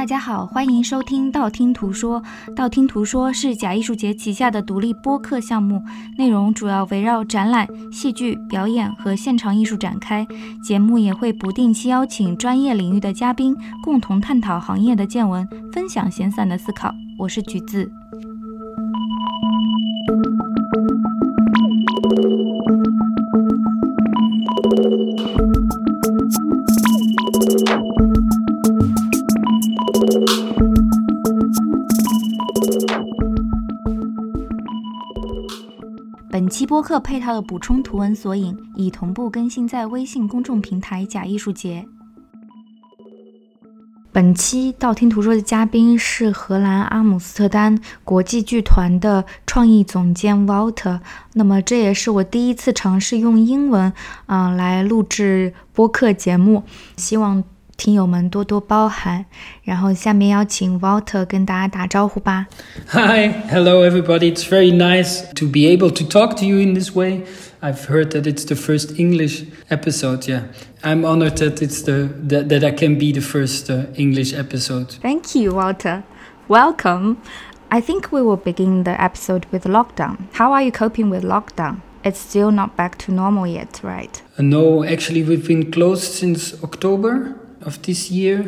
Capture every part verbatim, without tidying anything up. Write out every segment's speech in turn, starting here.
家好，欢迎收听道听途说。道听途说是假艺术节旗下的独立播客项目，内容主要围绕展览、戏剧、表演和现场艺术展开。节目也会不定期邀请专业领域的嘉宾，共同探讨行业的见闻，分享闲散的思考。我是橘子。本期播客配套的补充图文索引已同步更新在微信公众平台假艺术节。本期道听途说的嘉宾是荷兰阿姆斯特丹国际剧团的创意总监 Walter， 那么这也是我第一次尝试用英文、呃、来录制播客节目，希望听友们多多包涵。然后下面邀请 Walter 跟大家打招呼吧。 Hi, hello everybody. It's very nice to be able to talk to you in this way. I've heard that it's the first English episode, yeah. I'm honored that it's the that, that I can be the first uh, English episode. Thank you, Walter. Welcome. I think we will begin the episode with lockdown. How are you coping with lockdown? It's still not back to normal yet, right? Uh, no, actually we've been closed since October of this year.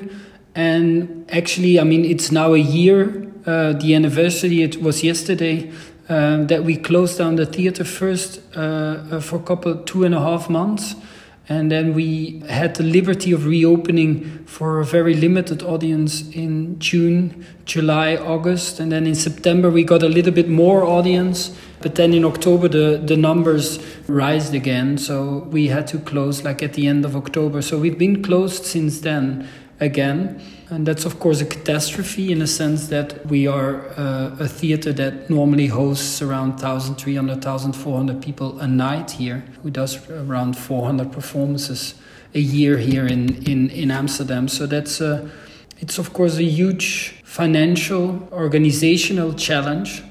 And actually, I mean, it's now a year. Uh, the anniversary, it was yesterday. Um, that we closed down the theater first uh, for a couple, two and a half months. And then we had the liberty of reopening for a very limited audience in June, July, August. And then in September, we got a little bit more audience. But then in October, the, the numbers rised again. So we had to close like at the end of October. So we've been closed since then again. And that's, of course, a catastrophe in a sense that we are uh, a theater that normally hosts around one thousand three hundred, one thousand four hundred people a night here, who does around four hundred performances a year here in, in, in Amsterdam. So that's a, it's, of course, a huge financial, organizational challenge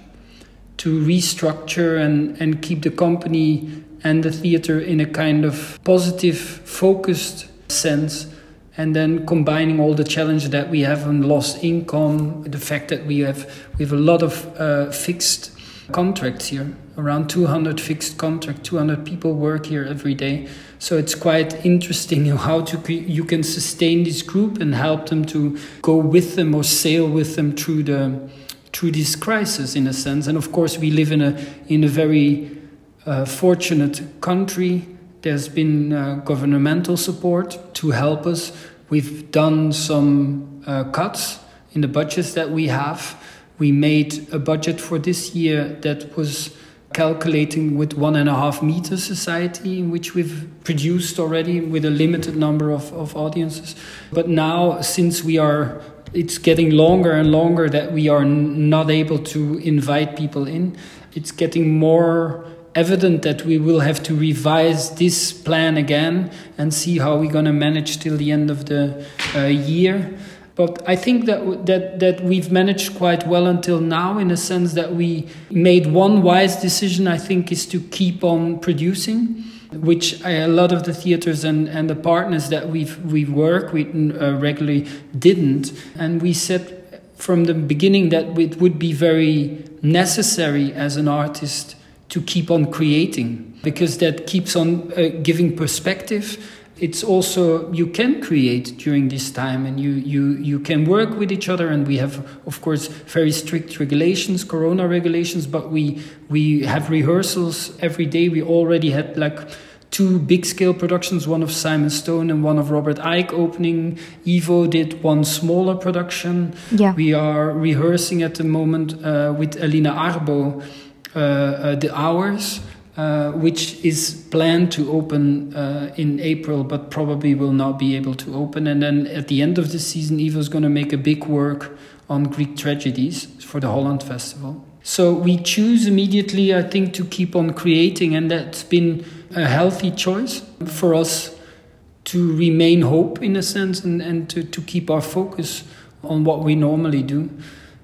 to restructure and, and keep the company and the theater in a kind of positive, focused sense. And then combining all the challenge that we have on lost income, the fact that we have we have a lot of uh, fixed contracts here, around two hundred fixed contracts, two hundred people work here every day. So it's quite interesting how to you can sustain this group and help them to go with them or sail with them through the through this crisis in a sense. And of course, we live in a in a very uh, fortunate country. There's been uh, governmental support to help us. We've done some uh, cuts in the budgets that we have. We made a budget for this year that was calculating with one and a half meter society, in which we've produced already with a limited number of, of audiences. But now, since we are, it's getting longer and longer that we are n- not able to invite people in, it's getting more evident that we will have to revise this plan again and see how we're going to manage till the end of the uh, year. But I think that that that we've managed quite well until now, in a sense that we made one wise decision, I think, is to keep on producing, which I, a lot of the theaters and, and the partners that we've we work with uh, regularly didn't. And we said from the beginning that it would be very necessary as an artist to keep on creating, because that keeps on uh, giving perspective. It's also, you can create during this time, and you, you, you can work with each other. And we have, of course, very strict regulations, Corona regulations, but we we have rehearsals every day. We already had like two big scale productions, one of Simon Stone and one of Robert Icke opening. Evo did one smaller production. Yeah. We are rehearsing at the moment uh, with Alina Arbo, Uh, uh, the Hours, uh, which is planned to open uh, in April, but probably will not be able to open. And then at the end of the season, Evo's going to make a big work on Greek tragedies for the Holland Festival. So we choose immediately, I think, to keep on creating, and that's been a healthy choice for us to remain hope in a sense, and, and to, to keep our focus on what we normally do.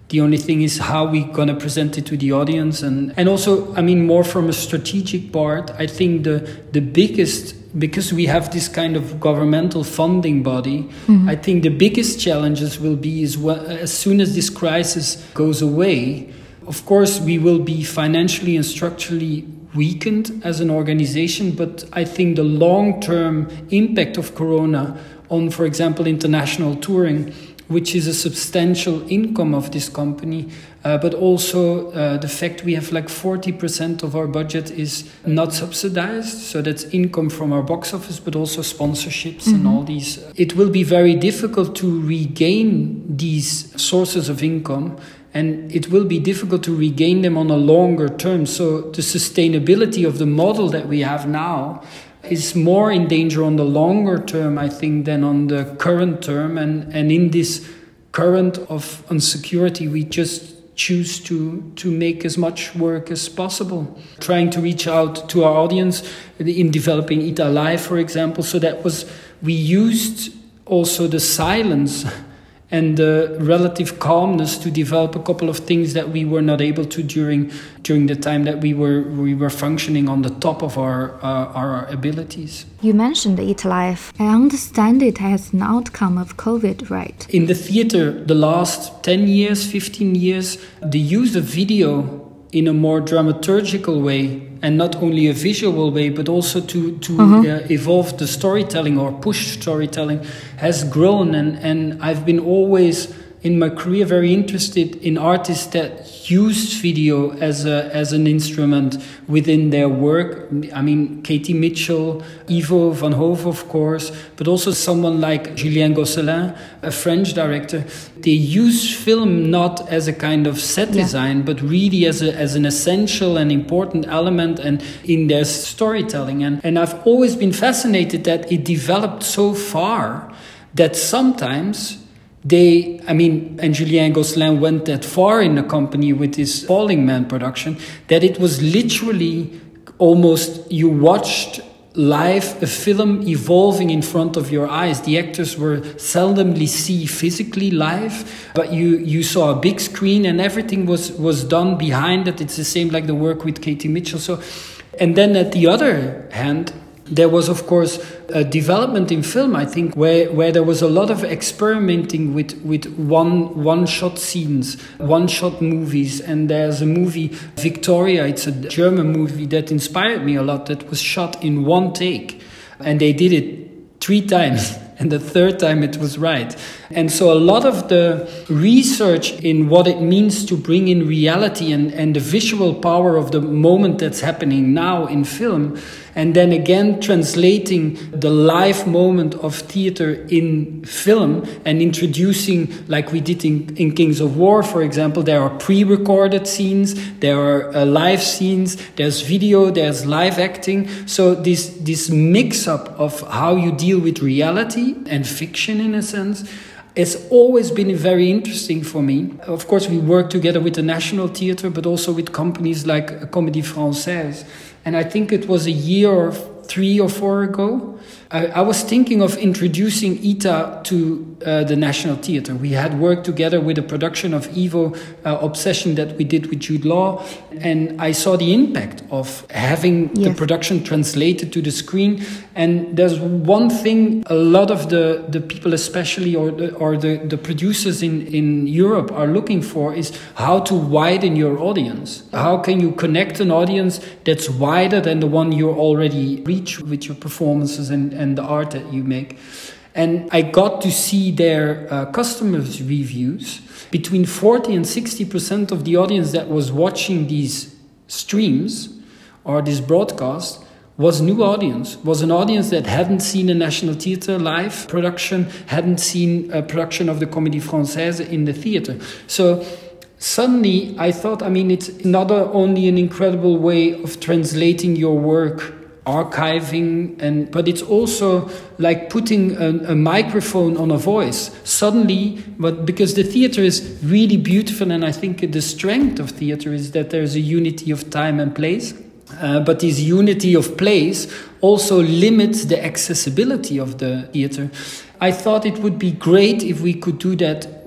The only thing is how we're going to present it to the audience. And, and also, I mean, more from a strategic part, I think the, the biggest, because we have this kind of governmental funding body, mm-hmm. I think the biggest challenges will be is well, as soon as this crisis goes away, of course, we will be financially and structurally weakened as an organization. But I think the long-term impact of Corona on, for example, international touring, which is a substantial income of this company, uh, but also uh, the fact we have like forty percent of our budget is not subsidized. So that's income from our box office, but also sponsorships mm-hmm. and all these. It will be very difficult to regain these sources of income, and it will be difficult to regain them on a longer term. So the sustainability of the model that we have now is more in danger on the longer term, I think, than on the current term. And, and in this current of insecurity, we just choose to, to make as much work as possible, trying to reach out to our audience in developing I T A Live, for example. So that was, we used also the silence and the relative calmness to develop a couple of things that we were not able to during during the time that we were we were functioning on the top of our uh, our abilities. You mentioned I T A Live. I understand it as an outcome of COVID, right? In the theater, the last ten years, fifteen years, the use of video in a more dramaturgical way, and not only a visual way, but also to, to uh-huh. uh, evolve the storytelling or push storytelling, has grown. And, and I've been always, in my career, very interested in artists that used video as a as an instrument within their work. I mean, Katie Mitchell, Ivo Van Hove, of course, but also someone like Julien Gosselin, a French director. They use film not as a kind of set yeah. design, but really as a as an essential and important element and in their storytelling. And, and I've always been fascinated that it developed so far that sometimes They, I mean, and Julien Gosselin went that far in the company with his Falling Man production, that it was literally almost, you watched live a film evolving in front of your eyes. The actors were seldomly seen physically live, but you, you saw a big screen and everything was, was done behind it. It's the same like the work with Katie Mitchell. So, and then at the other hand, there was, of course, a development in film, I think, where, where there was a lot of experimenting with, with one, one-shot scenes, one-shot movies. And there's a movie, Victoria, it's a German movie that inspired me a lot, that was shot in one take. And they did it three times. And the third time it was right. And so a lot of the research in what it means to bring in reality and, and the visual power of the moment that's happening now in film, and then again translating the live moment of theater in film and introducing, like we did in, in Kings of War, for example, there are pre-recorded scenes, there are uh, live scenes, there's video, there's live acting. So this, this mix-up of how you deal with reality and fiction, in a sense, it's always been very interesting for me. Of course, we work together with the National Theatre, but also with companies like Comédie Française. And I think it was a year or three or four ago, I, I was thinking of introducing I T A to uh, the National Theatre. We had worked together with a production of Ivo, uh, Obsession, that we did with Jude Law. And I saw the impact of having yes. the production translated to the screen. And there's one thing a lot of the, the people, especially, or the, or the, the producers in, in Europe are looking for, is how to widen your audience. How can you connect an audience that's wider than the one you already reach with your performances and, and the art that you make? And I got to see their uh, customers' reviews. Between forty and sixty percent of the audience that was watching these streams or this broadcast was new audience, was an audience that hadn't seen a National Theatre live production, hadn't seen a production of the Comédie Française in the theatre. So suddenly I thought, I mean, it's not only an incredible way of translating your work, archiving, and but it's also like putting a, a microphone on a voice. Suddenly, but because the theatre is really beautiful, and I think the strength of theatre is that there's a unity of time and place. Uh, but this unity of place also limits the accessibility of the theatre. I thought it would be great if we could do that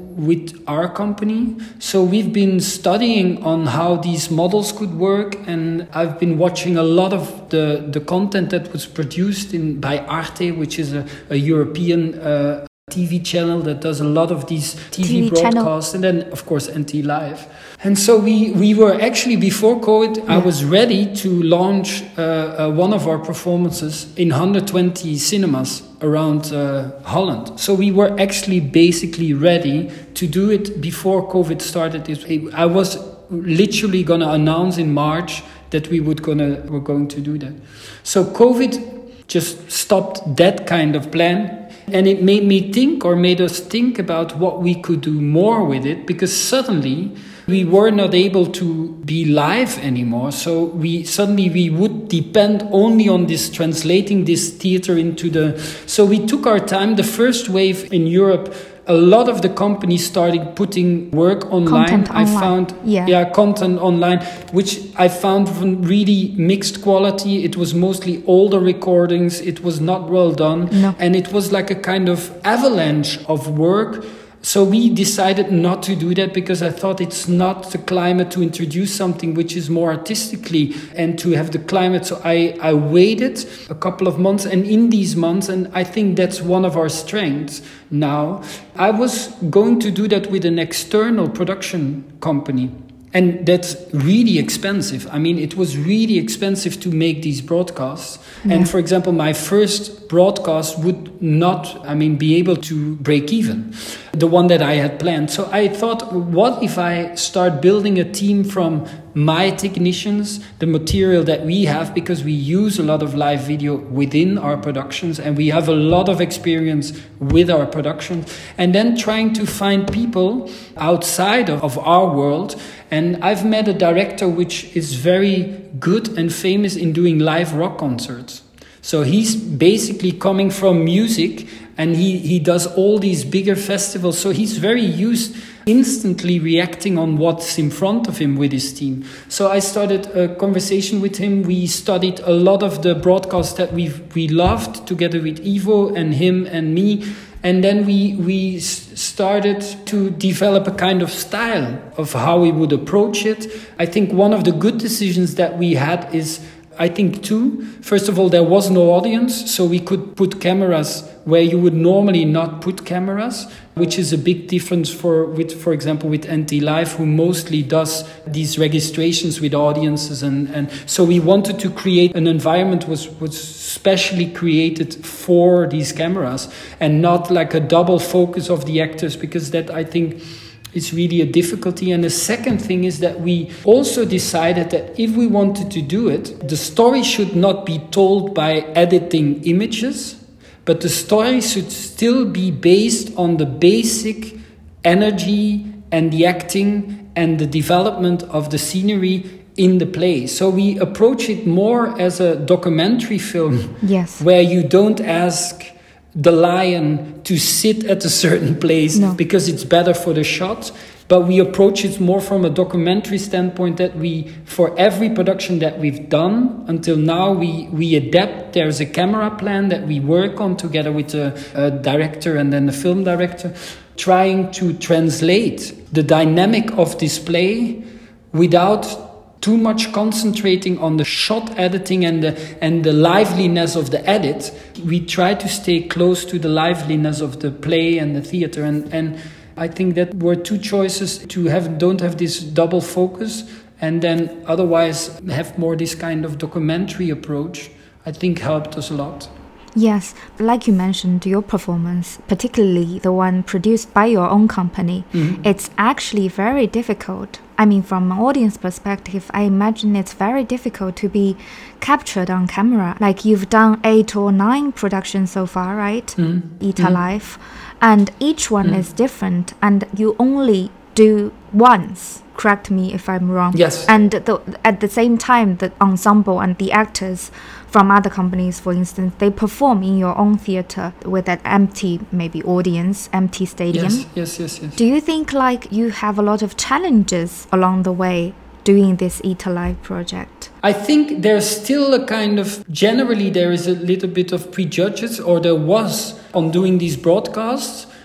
with our company. So we've been studying on how these models could work, and I've been watching a lot of the, the content that was produced in by Arte, which is a, a European uh, T V channel that does a lot of these T V, T V broadcasts, channel. And then of course N T Live. And so we, we were actually, before COVID, yeah. I was ready to launch uh, uh, one of our performances in one hundred twenty cinemas around uh, Holland. So we were actually basically ready to do it before COVID started. I was literally going to announce in March that we would gonna were going to do that. So COVID just stopped that kind of plan. And it made me think, or made us think about what we could do more with it, because suddenly we were not able to be live anymore. So we suddenly we would depend only on this translating this theater into the. So we took our time. The first wave in Europe, a lot of the companies started putting work online. Content I online. found yeah. yeah content online, which I found from really mixed quality. It was mostly older recordings. It was not well done, no. and it was like a kind of avalanche of work. So we decided not to do that, because I thought it's not the climate to introduce something which is more artistically and to have the climate. So I, I waited a couple of months, and in these months, and I think that's one of our strengths now, I was going to do that with an external production company. And that's really expensive. I mean, it was really expensive to make these broadcasts. Yeah. And for example, my first broadcast would not, I mean, be able to break even, the one that I had planned. So I thought, what if I start building a team from my technicians, the material that we have, because we use a lot of live video within our productions, and we have a lot of experience with our productions, and then trying to find people outside of, of our world. And I've met a director which is very good and famous in doing live rock concerts. So he's basically coming from music, and he, he does all these bigger festivals. So he's very used instantly reacting on what's in front of him with his team. So I started a conversation with him. We studied a lot of the broadcasts that we we loved together with Ivo and him and me. And then we we started to develop a kind of style of how we would approach it. I think one of the good decisions that we had is, I think two. First of all, there was no audience, so we could put cameras where you would normally not put cameras, which is a big difference for, with, for example, with N T Live, who mostly does these registrations with audiences. And, and so we wanted to create an environment was was specially created for these cameras, and not like a double focus of the actors, because that, I think, is really a difficulty. And the second thing is that we also decided that if we wanted to do it, the story should not be told by editing images, but the story should still be based on the basic energy and the acting and the development of the scenery in the play. So we approach it more as a documentary film, yes, where you don't ask the lion to sit at a certain place no. because it's better for the shot. But we approach it more from a documentary standpoint, that we, for every production that we've done until now, we, we adapt. There's a camera plan that we work on together with a, a director and then the film director, trying to translate the dynamic of display without too much concentrating on the shot editing and the and the liveliness of the edit. We try to stay close to the liveliness of the play and the theater, and and I think that were two choices to have don't have this double focus, and then otherwise have more this kind of documentary approach. I think helped us a lot. Yes, like you mentioned, your performance, particularly the one produced by your own company, mm-hmm. it's actually very difficult. I mean, from an audience perspective, I imagine it's very difficult to be captured on camera. Like, you've done eight or nine productions so far, right? Mm-hmm. Ita mm-hmm. Live. And each one mm-hmm. is different, and you only do once. Correct me if I'm wrong. Yes. And the, at the same time, the ensemble and the actors from other companies, for instance, they perform in your own theater with an empty, maybe audience, empty stadium. Yes, yes, yes, yes. Do you think like you have a lot of challenges along the way doing this Ita Live project? I think there's still a kind of, generally there is a little bit of prejudice, or there was, on doing these broadcasts,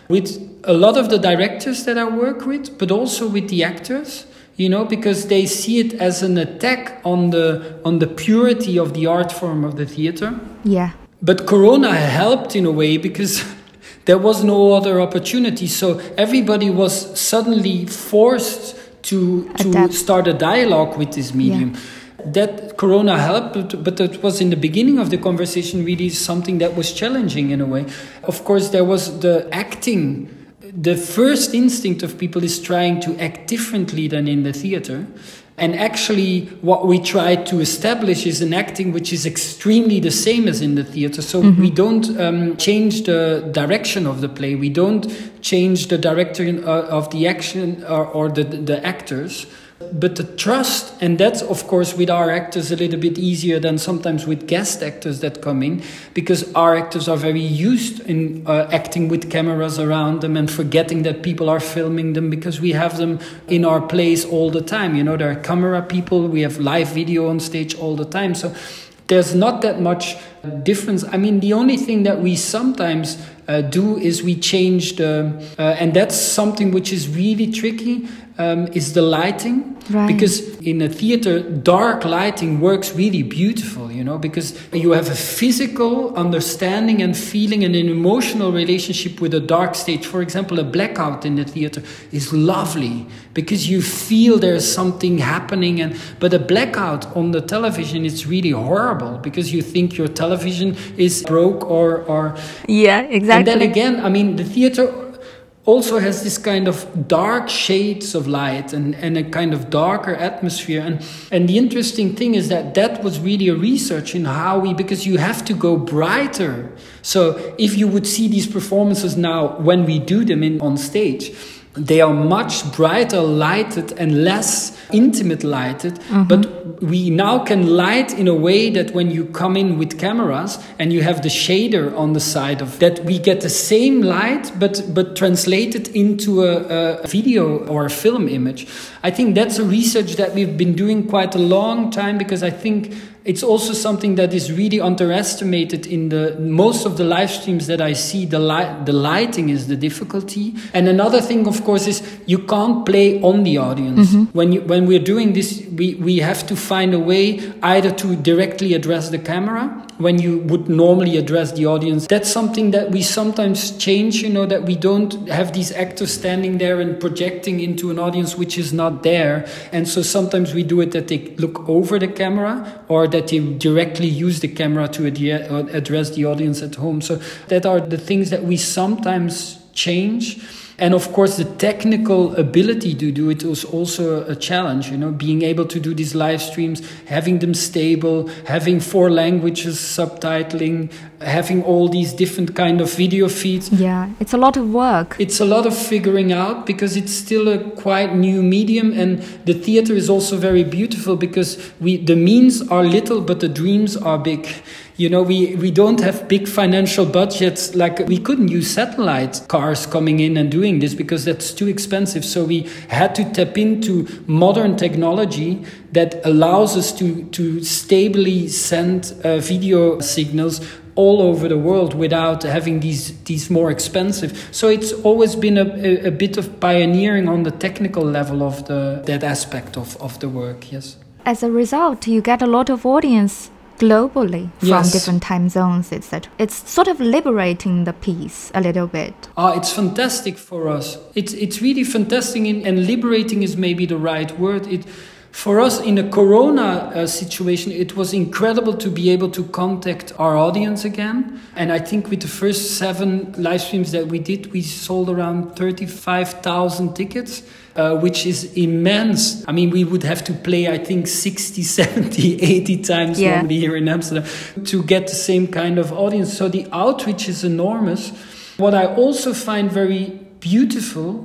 with a lot of the directors that I work with, but also with the actors, you know, because they see it as an attack on the on the purity of the art form of the theater. Yeah. But Corona helped in a way because there was no other opportunity. So everybody was suddenly forced to to Adapt. start a dialogue with this medium. Yeah. That Corona helped, but, but it was in the beginning of the conversation really something that was challenging in a way. Of course, there was the acting. The first instinct of people is trying to act differently than in the theater. And actually, what we try to establish is an acting which is extremely the same as in the theater. So mm-hmm. we don't um, change the direction of the play. We don't change the director uh, of the action or, or the, the actors. But the trust, and that's of course with our actors a little bit easier than sometimes with guest actors that come in, because our actors are very used in uh, acting with cameras around them and forgetting that people are filming them, because we have them in our plays all the time. You know, there are camera people, we have live video on stage all the time. So there's not that much difference. I mean, the only thing that we sometimes uh, do is we change the, uh, and that's something which is really tricky, um, is the lighting. Right. Because in a theater, dark lighting works really beautiful, you know, because you have a physical understanding and feeling and an emotional relationship with a dark stage. For example, a blackout in the theater is lovely because you feel there's something happening. And but a blackout on the television is really horrible because you think your television is broke or... or yeah, exactly. And then again, I mean, the theater also has this kind of dark shades of light and, and a kind of darker atmosphere. And, and the interesting thing is that that was really a research in how we, because you have to go brighter. So if you would see these performances now when we do them in on stage, they are much brighter lighted and less intimate lighted. Mm-hmm. But we now can light in a way that when you come in with cameras and you have the shader on the side of that, we get the same light, but, but translated into a, a video or a film image. I think that's a research that we've been doing quite a long time, because I think it's also something that is really underestimated in the most of the live streams that I see. The light, the lighting is the difficulty. And another thing, of course, is you can't play on the audience. Mm-hmm. When you, when we're doing this, we, we have to find a way either to directly address the camera when you would normally address the audience. That's something that we sometimes change, you know, that we don't have these actors standing there and projecting into an audience which is not there. And so sometimes we do it that they look over the camera, or that they directly use the camera to ad- address the audience at home. So that are the things that we sometimes change. And of course, the technical ability to do it is also a challenge, you know, being able to do these live streams, having them stable, having four languages, subtitling, having all these different kind of video feeds. Yeah, it's a lot of work. It's a lot of figuring out, because it's still a quite new medium, and the theater is also very beautiful because we the means are little, but the dreams are big. You know, we, we don't have big financial budgets. Like, we couldn't use satellite cars coming in and doing this because that's too expensive. So we had to tap into modern technology that allows us to, to stably send uh, video signals all over the world without having these these more expensive. So it's always been a, a, a bit of pioneering on the technical level of the that aspect of, of the work, yes. As a result, you get a lot of audience globally from yes. different time zones, et cetera. It's sort of liberating the piece a little bit. Ah, it's fantastic for us. It's it's really fantastic, in, and liberating is maybe the right word. It for us in a Corona uh, situation, it was incredible to be able to contact our audience again. And I think with the first seven live streams that we did, we sold around thirty-five thousand tickets. Uh, which is immense. I mean, we would have to play, I think, sixty, seventy, eighty times yeah. normally here in Amsterdam to get the same kind of audience. So the outreach is enormous. What I also find very beautiful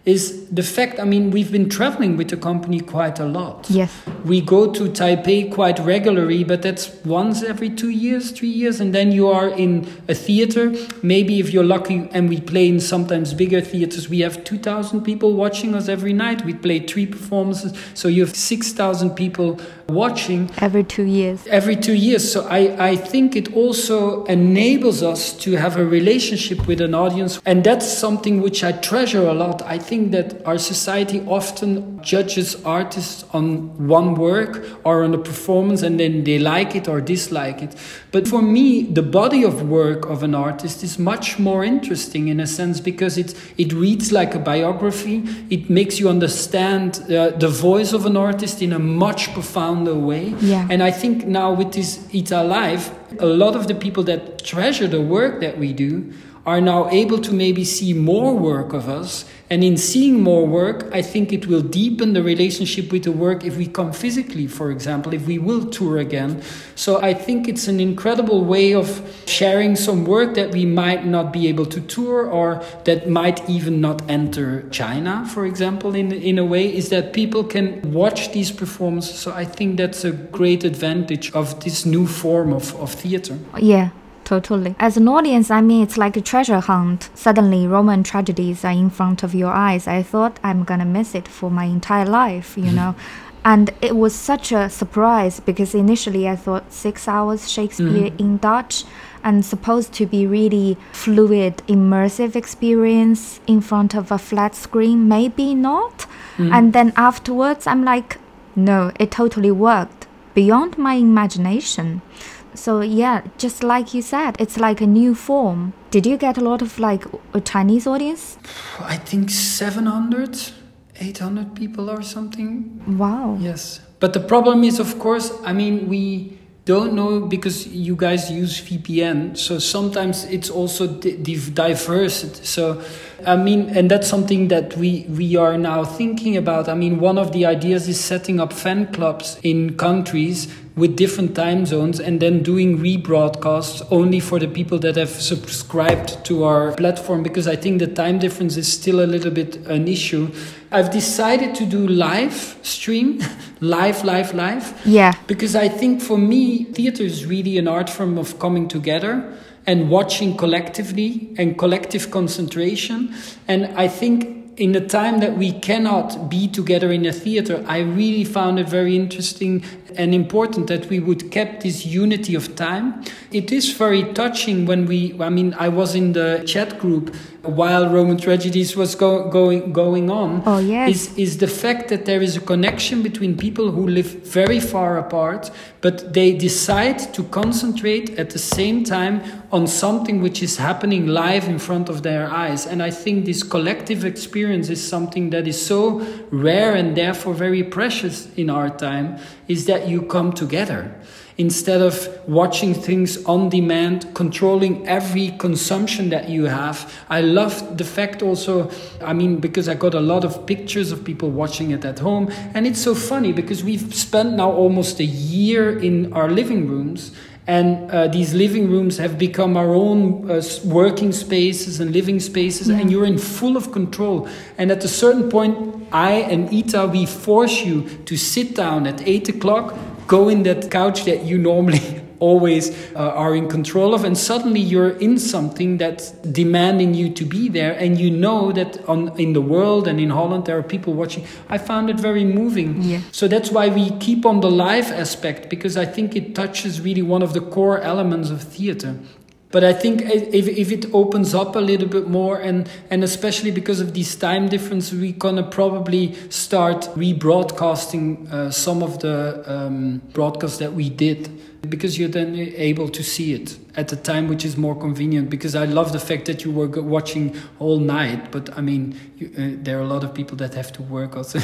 is the fact, I mean, we've been traveling with the company quite a lot. Yes. We go to Taipei quite regularly, but that's once every two years, three years. And then you are in a theater. Maybe if you're lucky, and we play in sometimes bigger theaters, we have two thousand people watching us every night. We play three performances. So you have six thousand people watching. Every two years. Every two years. So I, I think it also enables us to have a relationship with an audience. And that's something which I treasure a lot. I think that our society often judges artists on one work or on a performance, and then they like it or dislike it. But for me, the body of work of an artist is much more interesting in a sense, because it, it reads like a biography. It makes you understand uh, the voice of an artist in a much profounder way. Yeah. And I think now with this Ita Live, a lot of the people that treasure the work that we do are now able to maybe see more work of us. And in seeing more work, I think it will deepen the relationship with the work if we come physically, for example, if we will tour again. So I think it's an incredible way of sharing some work that we might not be able to tour, or that might even not enter China, for example, in, in a way, is that people can watch these performances. So I think that's a great advantage of this new form of, of theater. Yeah. Totally. As an audience, I mean, it's like a treasure hunt. Suddenly, Roman tragedies are in front of your eyes. I thought I'm gonna miss it for my entire life, you know. And it was such a surprise, because initially I thought six hours Shakespeare mm. in Dutch, and supposed to be really fluid, immersive experience in front of a flat screen. Maybe not. Mm. And then afterwards, I'm like, no, it totally worked. Beyond my imagination. So yeah, just like you said, it's like a new form. Did you get a lot of like a Chinese audience? I think seven hundred, eight hundred people or something. Wow. Yes. But the problem is, of course, I mean, we don't know, because you guys use V P N. So sometimes it's also di- diverse. So, I mean, and that's something that we, we are now thinking about. I mean, one of the ideas is setting up fan clubs in countries with different time zones, and then doing rebroadcasts only for the people that have subscribed to our platform, because I think the time difference is still a little bit an issue. I've decided to do live stream, live, live, live. Yeah. Because I think for me, theater is really an art form of coming together and watching collectively and collective concentration. And I think in the time that we cannot be together in a theater, I really found it very interesting and important that we would keep this unity of time. It is very touching when we, I mean, I was in the chat group while Roman Tragedies was go, going going on. Oh, yes. Is, is the fact that there is a connection between people who live very far apart, but they decide to concentrate at the same time on something which is happening live in front of their eyes. And I think this collective experience is something that is so rare and therefore very precious in our time, is that you come together. Instead of watching things on demand, controlling every consumption that you have. I love the fact also, I mean, because I got a lot of pictures of people watching it at home. And it's so funny because we've spent now almost a year in our living rooms. And uh, these living rooms have become our own uh, working spaces and living spaces, yeah. And you're in full of control. And at a certain point, I and Ita, we force you to sit down at eight o'clock, go in that couch that you normally always uh, are in control of, and suddenly you're in something that's demanding you to be there, and you know that on in the world and in Holland there are people watching. I found it very moving. Yeah. So that's why we keep on the live aspect, because I think it touches really one of the core elements of theater. But I think if if it opens up a little bit more, and, and especially because of these time difference, we're going to probably start rebroadcasting uh, some of the um, broadcasts that we did, because you're then able to see it at a time which is more convenient. Because I love the fact that you were watching all night, but I mean, you, uh, there are a lot of people that have to work also.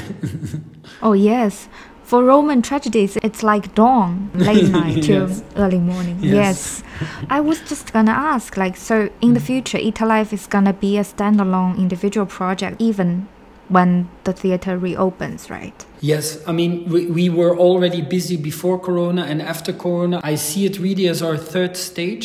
Oh, yes. For Roman Tragedies, it's like dawn, late night to Yes. early morning. Yes. Yes. I was just gonna ask, like, so in the future, Ita Live is gonna be a standalone individual project, even when the theater reopens, right? Yes, I mean, we, we were already busy before Corona, and after Corona, I see it really as our third stage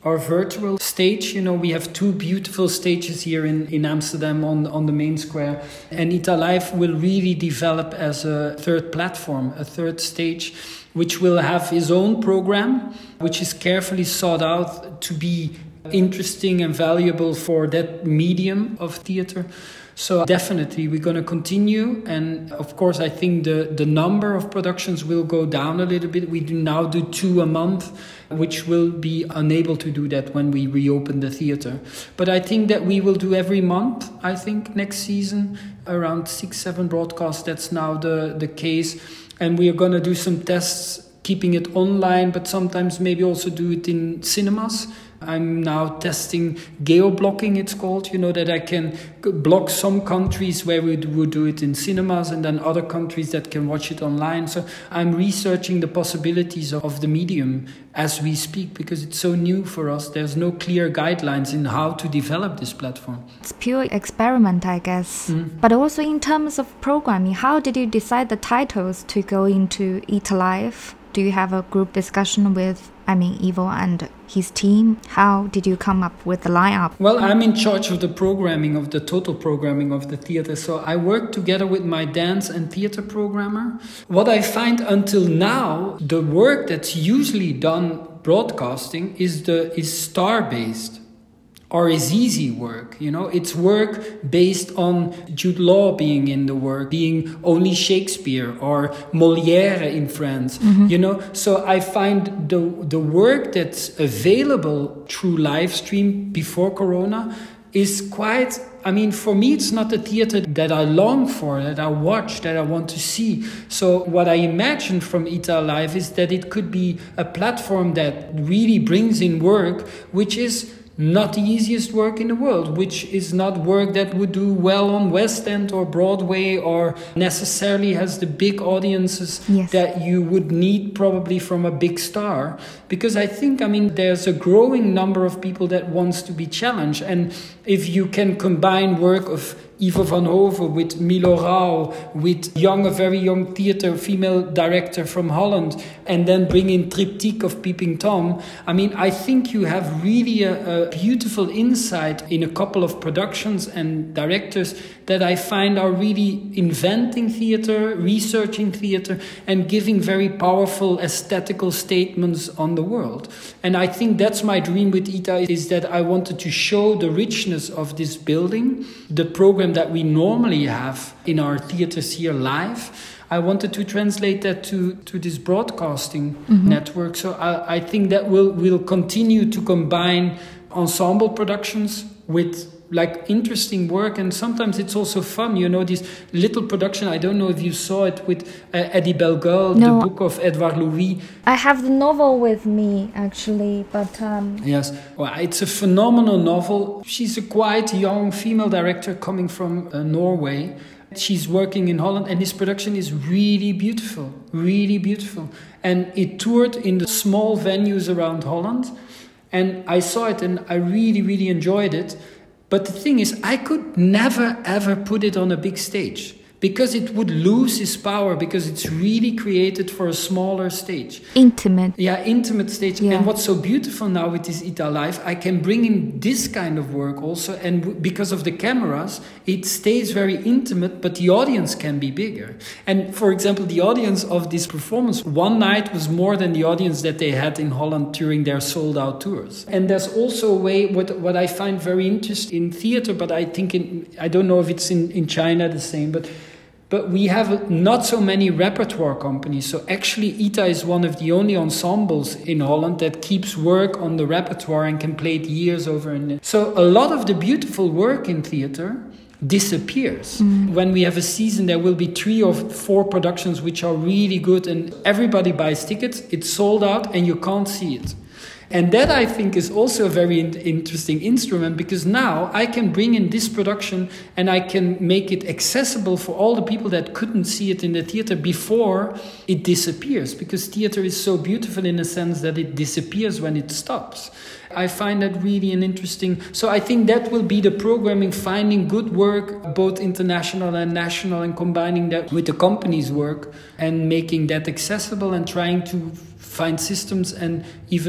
our virtual stage. You know, we have two beautiful stages here in, in Amsterdam on, on the main square. And Italife will really develop as a third platform, a third stage, which will have his own program, which is carefully sought out to be interesting and valuable for that medium of theater. So definitely we're going to continue, and of course I think the, the number of productions will go down a little bit. We do now do two a month, which will be unable to do that when we reopen the theater. But I think that we will do every month, I think, next season, around six, seven broadcasts. That's now the, the case. And we are going to do some tests, keeping it online, but sometimes maybe also do it in cinemas. I'm now testing geo-blocking, it's called, you know, that I can block some countries where we would do it in cinemas and then other countries that can watch it online. So I'm researching the possibilities of the medium as we speak, because it's so new for us. There's no clear guidelines in how to develop this platform. It's pure experiment, I guess. Mm. But also in terms of programming, how did you decide the titles to go into Italife? Do you have a group discussion with, I mean, Ivo and his team? How did you come up with the lineup? Well, I'm in charge of the programming, of the total programming of the theater. So I work together with my dance and theater programmer. What I find until now, the work that's usually done broadcasting is the is star-based. Or is easy work, you know, it's work based on Jude Law being in the work, being only Shakespeare or Molière in France, mm-hmm. you know. So I find the the work that's available through live stream before Corona is quite, I mean, for me, it's not a theater that I long for, that I watch, that I want to see. So what I imagine from Italife is that it could be a platform that really brings in work, which is not the easiest work in the world, which is not work that would do well on West End or Broadway or necessarily has the big audiences yes. that you would need probably from a big star. Because I think, I mean, there's a growing number of people that wants to be challenged. And if you can combine work of Ivo van Hove with Milo Rau, with young, a very young theater female director from Holland, and then bring in Triptych of Peeping Tom. I mean, I think you have really a, a beautiful insight in a couple of productions and directors that I find are really inventing theater, researching theater, and giving very powerful aesthetical statements on the world. And I think that's my dream with ITA, is that I wanted to show the richness of this building, the program that we normally have in our theaters here live. I wanted to translate that to, to this broadcasting mm-hmm. network. So I, I think that we'll, we'll continue to combine ensemble productions with like interesting work, and sometimes it's also fun, you know, this little production. I don't know if you saw it with uh, Eddie Bellegueule, no. the book of Edouard Louis. I have the novel with me actually, but um... yes, well, it's a phenomenal novel. She's a quite young female director coming from uh, Norway. She's working in Holland, and this production is really beautiful, really beautiful. And it toured in the small venues around Holland, and I saw it and I really, really enjoyed it. But the thing is, I could never, ever put it on a big stage because it would lose its power, because it's really created for a smaller stage. Intimate. Yeah, intimate stage. Yeah. And what's so beautiful now with this Italife, I can bring in this kind of work also. And w- because of the cameras, it stays very intimate, but the audience can be bigger. And for example, the audience of this performance one night was more than the audience that they had in Holland during their sold out tours. And there's also a way, what, what I find very interesting in theater, but I think in, I don't know if it's in, in China the same, but But we have not so many repertoire companies. So actually I T A is one of the only ensembles in Holland that keeps work on the repertoire and can play it years over. And so a lot of the beautiful work in theater disappears. Mm. When we have a season, there will be three or four productions which are really good and everybody buys tickets. It's sold out and you can't see it. And that, I think, is also a very in- interesting instrument, because now I can bring in this production and I can make it accessible for all the people that couldn't see it in the theater before it disappears, because theater is so beautiful in a sense that it disappears when it stops. I find that really an interesting... So I think that will be the programming, finding good work, both international and national, and combining that with the company's work and making that accessible and trying to find systems and even abroad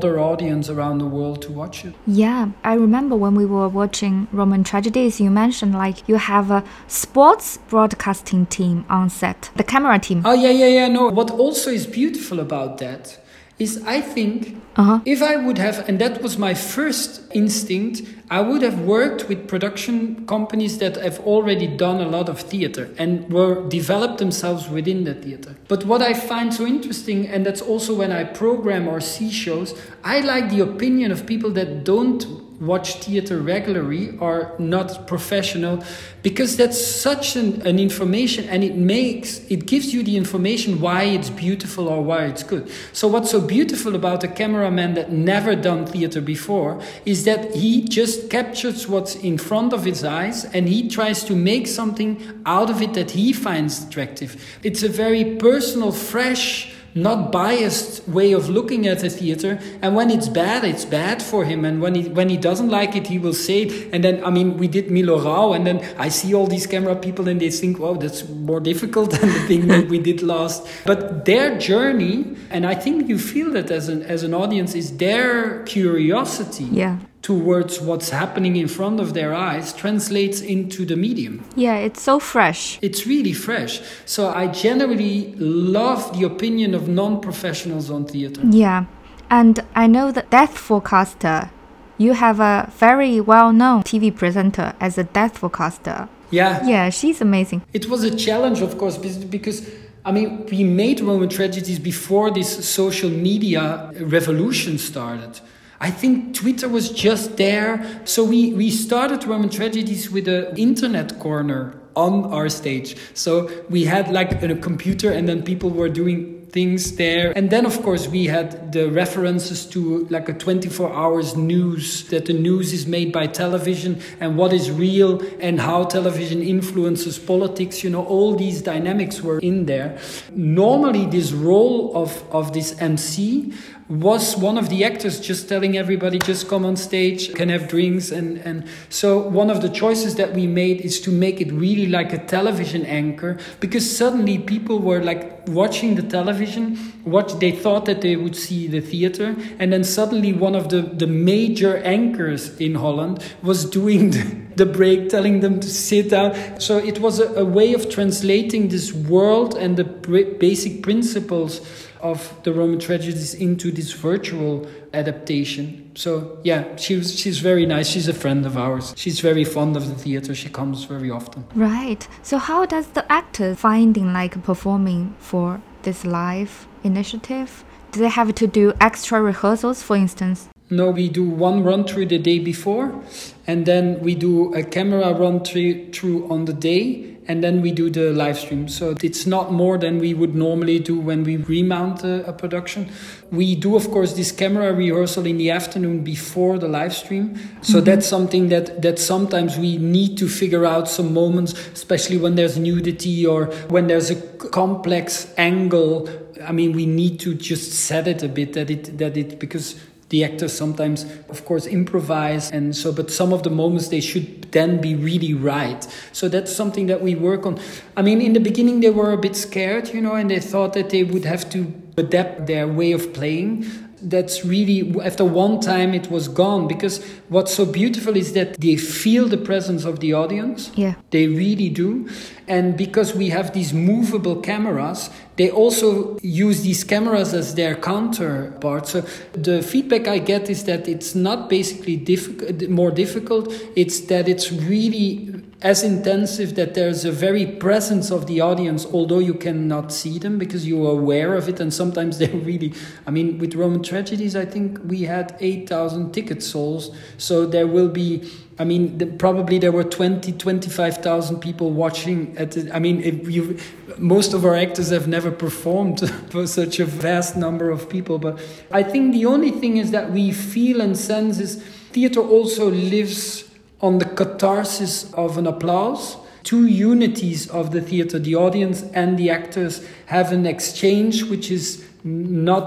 broader audience around the world to watch it. Yeah, I remember when we were watching Roman Tragedies, you mentioned like you have a sports broadcasting team on set, the camera team. Oh, yeah, yeah, yeah, no. What also is beautiful about that is I think uh-huh. if I would have, and that was my first instinct, I would have worked with production companies that have already done a lot of theater and were developed themselves within the theater. But what I find so interesting, and that's also when I program or see shows, I like the opinion of people that don't watch theater regularly or not professional, because that's such an, an information, and it makes it gives you the information why it's beautiful or why it's good. So what's so beautiful about a cameraman that never done theater before is that he just captures what's in front of his eyes and he tries to make something out of it that he finds attractive. It's a very personal, fresh, not biased way of looking at the theater, and when it's bad, it's bad for him, and when he when he doesn't like it, he will say it. And then, I mean, we did Milo Rau, and then I see all these camera people and they think, wow, that's more difficult than the thing that we did last. But their journey, and I think you feel that as an as an audience, is their curiosity. Yeah. Towards what's happening in front of their eyes translates into the medium. Yeah, it's so fresh. It's really fresh. So I generally love the opinion of non-professionals on theater. Yeah, and I know that Death Forecaster, you have a very well-known T V presenter as a Death Forecaster. Yeah. Yeah, she's amazing. It was a challenge, of course, because I mean, we made Roman Tragedies before this social media revolution started. I think Twitter was just there. So we, we started Roman Tragedies with an internet corner on our stage. So we had like a computer and then people were doing things there. And then, of course, we had the references to like a twenty-four hours news, that the news is made by television and what is real and how television influences politics. You know, all these dynamics were in there. Normally, this role of, of this M C was one of the actors just telling everybody, just come on stage, can have drinks. And, and so one of the choices that we made is to make it really like a television anchor, because suddenly people were like watching the television, what they thought that they would see the theater. And then suddenly one of the, the major anchors in Holland was doing the, the break, telling them to sit down. So it was a, a way of translating this world and the pr- basic principles of the Roman Tragedies into this virtual adaptation. So yeah, she was, she's very nice. She's a friend of ours. She's very fond of the theater. She comes very often. Right. So how does the actor finding like performing for this live initiative? Do they have to do extra rehearsals, for instance? No, we do one run through the day before, and then we do a camera run through on the day, and then we do the live stream. So it's not more than we would normally do when we remount a, a production. We do, of course, this camera rehearsal in the afternoon before the live stream. So mm-hmm. that's something that, that sometimes we need to figure out some moments, especially when there's nudity or when there's a complex angle. I mean, we need to just set it a bit that it that it because the actors sometimes, of course, improvise, and so, but some of the moments they should then be really right. So that's something that we work on. I mean, in the beginning they were a bit scared, you know, and they thought that they would have to adapt their way of playing. That's really, after one time it was gone, because what's so beautiful is that they feel the presence of the audience. Yeah. They really do. And because we have these movable cameras, they also use these cameras as their counterpart. So the feedback I get is that it's not basically difficult, more difficult. It's that it's really as intensive, that there's a very presence of the audience, although you cannot see them because you are aware of it. And sometimes they're really, I mean, with Roman Tragedies, I think we had eight thousand tickets sold. So there will be, I mean, the, probably there were twenty, twenty-five thousand people watching. At the, I mean, if you, most of our actors have never performed for such a vast number of people. But I think the only thing is that we feel and sense is theater also lives on the catharsis of an applause. Two unities of the theater, the audience and the actors, have an exchange which is not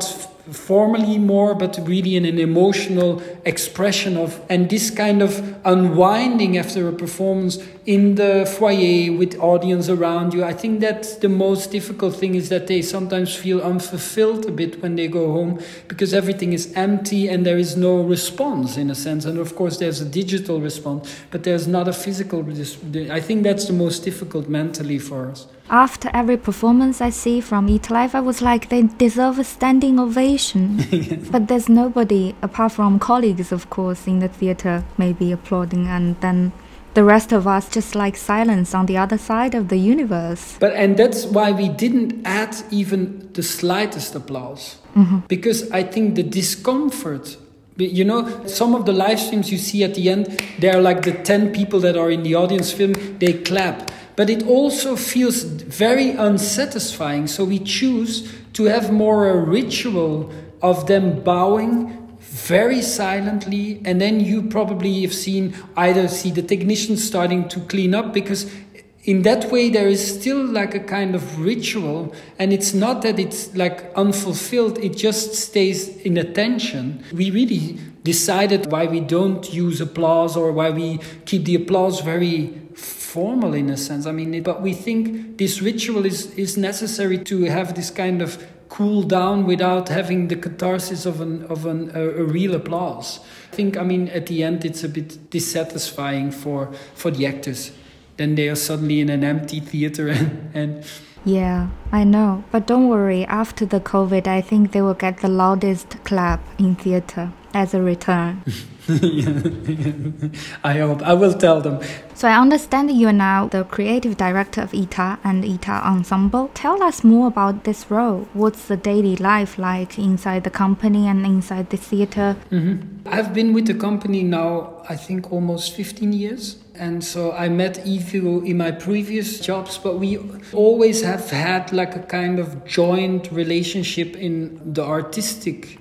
formally more, but really in an emotional expression of, and this kind of unwinding after a performance in the foyer with audience around you. I think that's the most difficult thing, is that they sometimes feel unfulfilled a bit when they go home, because everything is empty and there is no response in a sense. And of course there's a digital response, but there's not a physical response. I think that's the most difficult mentally for us. After every performance I see from Eat Life, I was like, they deserve a standing ovation. Yes. But there's nobody, apart from colleagues, of course, in the theater, maybe applauding, and then the rest of us just like silence on the other side of the universe. But and that's why we didn't add even the slightest applause. Mm-hmm. Because I think the discomfort, you know, some of the live streams you see at the end, they're like the ten people that are in the audience film, they clap. But it also feels very unsatisfying. So we choose to have more a ritual of them bowing very silently. And then you probably have seen either see the technicians starting to clean up, because in that way there is still like a kind of ritual. And it's not that it's like unfulfilled. It just stays in attention. We really decided why we don't use applause, or why we keep the applause very formal in a sense. I mean, it, but we think this ritual is, is necessary to have this kind of cool down without having the catharsis of an of an, a, a real applause. I think, I mean, at the end it's a bit dissatisfying for, for the actors. Then they are suddenly in an empty theater and, and yeah, I know. But don't worry, after the COVID, I think they will get the loudest clap in theater as a return. yeah, yeah. I hope. I will tell them. So I understand you are now the creative director of I T A and I T A Ensemble. Tell us more about this role. What's the daily life like inside the company and inside the theater? Mm-hmm. I've been with the company now, I think, almost fifteen years. And so I met Ivo in my previous jobs, but we always have had like a kind of joint relationship in the artistic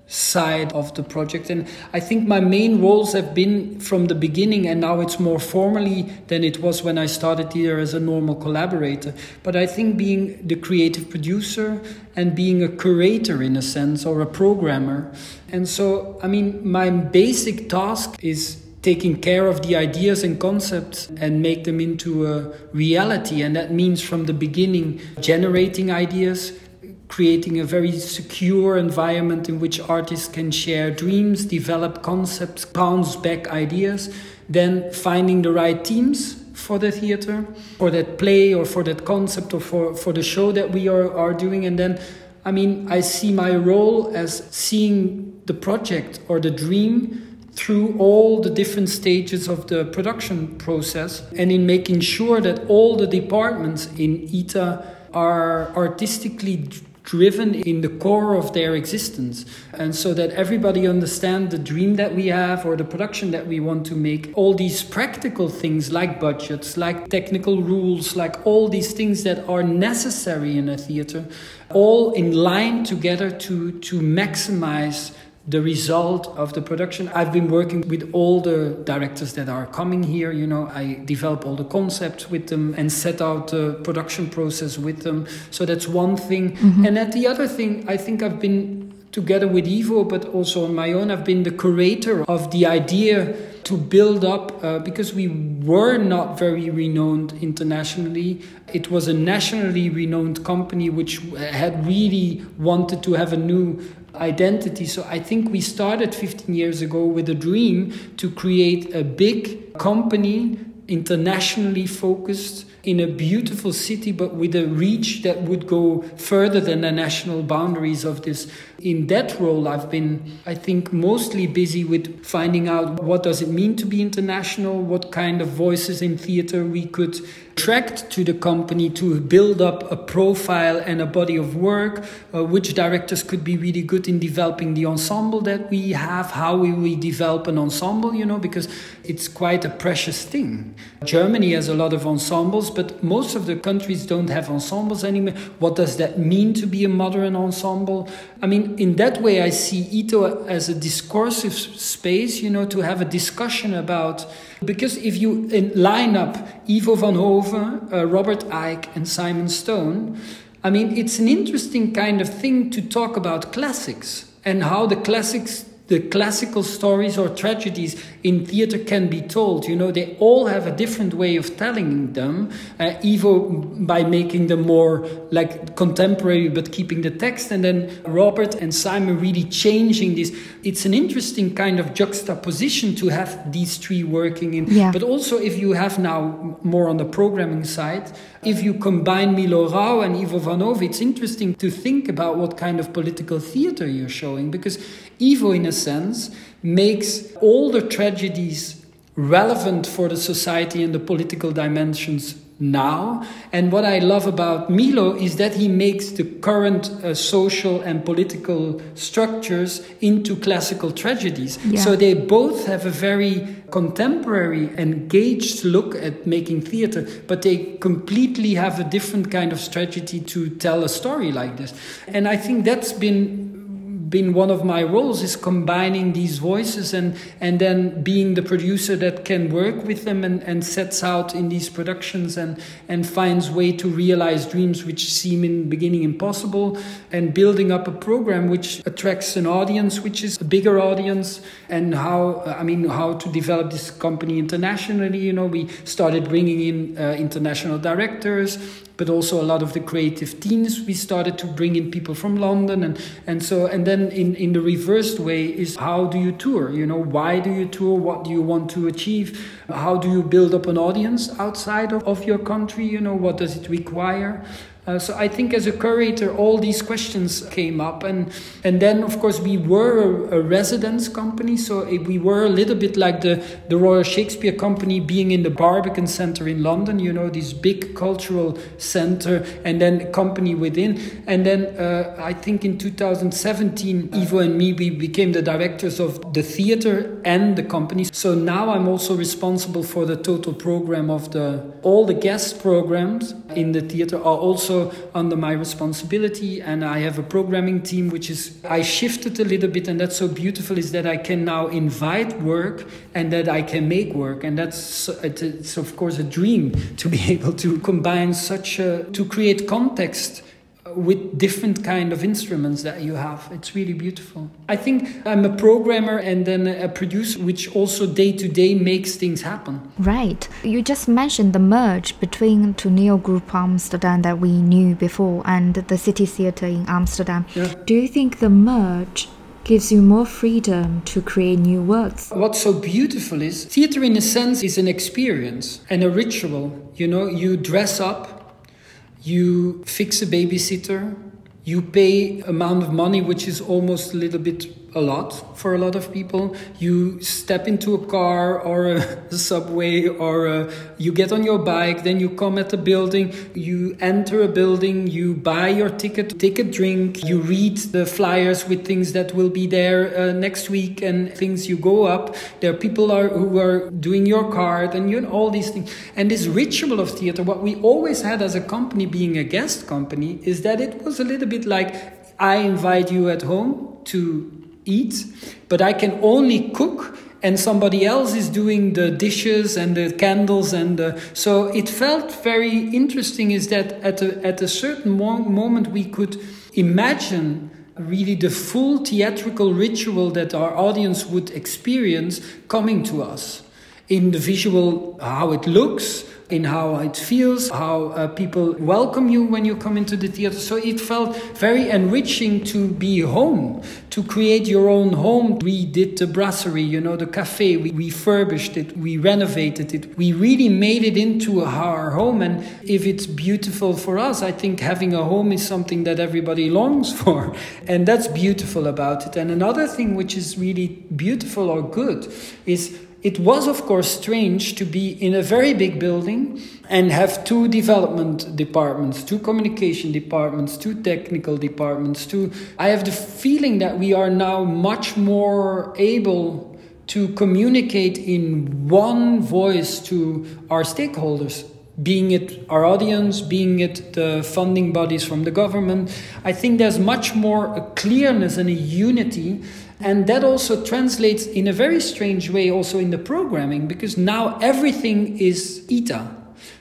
side of the project. And I think my main roles have been from the beginning, and now it's more formally than it was when I started here as a normal collaborator. But I think being the creative producer and being a curator in a sense, or a programmer. And so, I mean, my basic task is taking care of the ideas and concepts and make them into a reality. And that means from the beginning generating ideas, creating a very secure environment in which artists can share dreams, develop concepts, bounce back ideas, then finding the right teams for the theater, for that play or for that concept or for, for the show that we are, are doing. And then, I mean, I see my role as seeing the project or the dream through all the different stages of the production process, and in making sure that all the departments in I T A are artistically driven in the core of their existence, and so that everybody understands the dream that we have or the production that we want to make. All these practical things like budgets, like technical rules, like all these things that are necessary in a theater, all in line together to, to maximize the result of the production. I've been working with all the directors that are coming here. You know, I develop all the concepts with them and set out the production process with them. So that's one thing. Mm-hmm. And at the other thing, I think I've been together with Ivo, but also on my own, I've been the curator of the idea to build up, uh, because we were not very renowned internationally. It was a nationally renowned company which had really wanted to have a new identity. So I think we started fifteen years ago with a dream to create a big company, internationally focused, in a beautiful city, but with a reach that would go further than the national boundaries of this. In that role, I've been, I think, mostly busy with finding out what does it mean to be international, what kind of voices in theater we could attract to the company to build up a profile and a body of work, uh, which directors could be really good in developing the ensemble that we have, how will we develop an ensemble, you know, because it's quite a precious thing. Germany has a lot of ensembles, but most of the countries don't have ensembles anymore. What does that mean to be a modern ensemble? I mean, in that way, I see I T A as a discursive space, you know, to have a discussion about. Because if you line up Ivo van Hove, uh, Robert Icke and Simon Stone, I mean, it's an interesting kind of thing to talk about classics and how the classics, the classical stories or tragedies in theater can be told. You know, they all have a different way of telling them. Uh, Ivo by making them more like contemporary, but keeping the text, and then Robert and Simon really changing this. It's an interesting kind of juxtaposition to have these three working in. Yeah. But also, if you have now more on the programming side, if you combine Milo Rau and Ivo Van Hove, it's interesting to think about what kind of political theater you're showing, because Ivo, in a sense, makes all the tragedies relevant for the society and the political dimensions now. And what I love about Milo is that he makes the current uh, social and political structures into classical tragedies. Yeah. So they both have a very contemporary, engaged look at making theater, but they completely have a different kind of strategy to tell a story like this. And I think that's been been one of my roles, is combining these voices and and then being the producer that can work with them and, and sets out in these productions and and finds way to realize dreams which seem in the beginning impossible, and building up a program which attracts an audience which is a bigger audience. And how I mean how to develop this company internationally. You know, we started bringing in uh, international directors, but also a lot of the creative teams. We started to bring in people from London, and, and so and then in, in the reversed way is, how do you tour? You know, why do you tour? What do you want to achieve? How do you build up an audience outside of, of your country? You know, what does it require? Uh, so I think as a curator, all these questions came up. And and then, of course, we were a, a residence company. So we were a little bit like the, the Royal Shakespeare Company being in the Barbican Centre in London, you know, this big cultural centre, and then a company within. And then uh, I think in two thousand seventeen, Ivo and me, we became the directors of the theatre and the company. So now I'm also responsible for the total program of the, all the guest programs in the theatre are also under my responsibility, and I have a programming team which is, I shifted a little bit, and that's so beautiful, is that I can now invite work and that I can make work, and that's it's of course a dream to be able to combine such a, to create context with different kind of instruments that you have. It's really beautiful. I think I'm a programmer and then a producer, which also day to day makes things happen. Right. You just mentioned the merge between Toneel Group Amsterdam that we knew before and the City Theatre in Amsterdam. Yeah. Do you think the merge gives you more freedom to create new works? What's so beautiful is theatre, in a sense, is an experience and a ritual. You know, you dress up, you fix a babysitter, you pay amount of money which is almost a little bit a lot for a lot of people. You step into a car or a subway, or a, you get on your bike, then you come at the building, you enter a building, you buy your ticket, take a drink, you read the flyers with things that will be there uh, next week and things. You go up, there are people are, who are doing your card, and you know, all these things. And this ritual of theatre, what we always had as a company, being a guest company, is that it was a little bit like, I invite you at home to eat, but I can only cook, and somebody else is doing the dishes and the candles, and the, so it felt very interesting. Is that at a at a certain mo- moment we could imagine really the full theatrical ritual that our audience would experience coming to us in the visual, how it looks, in how it feels, how uh, people welcome you when you come into the theatre. So it felt very enriching to be home, to create your own home. We did the brasserie, you know, the cafe. We refurbished it, we renovated it. We really made it into our home. And if it's beautiful for us, I think having a home is something that everybody longs for. And that's beautiful about it. And another thing which is really beautiful or good is, it was, of course, strange to be in a very big building and have two development departments, two communication departments, two technical departments. Two. I have the feeling that we are now much more able to communicate in one voice to our stakeholders, being it our audience, being it the funding bodies from the government. I think there's much more a clearness and a unity. And that also translates in a very strange way also in the programming, because now everything is I T A.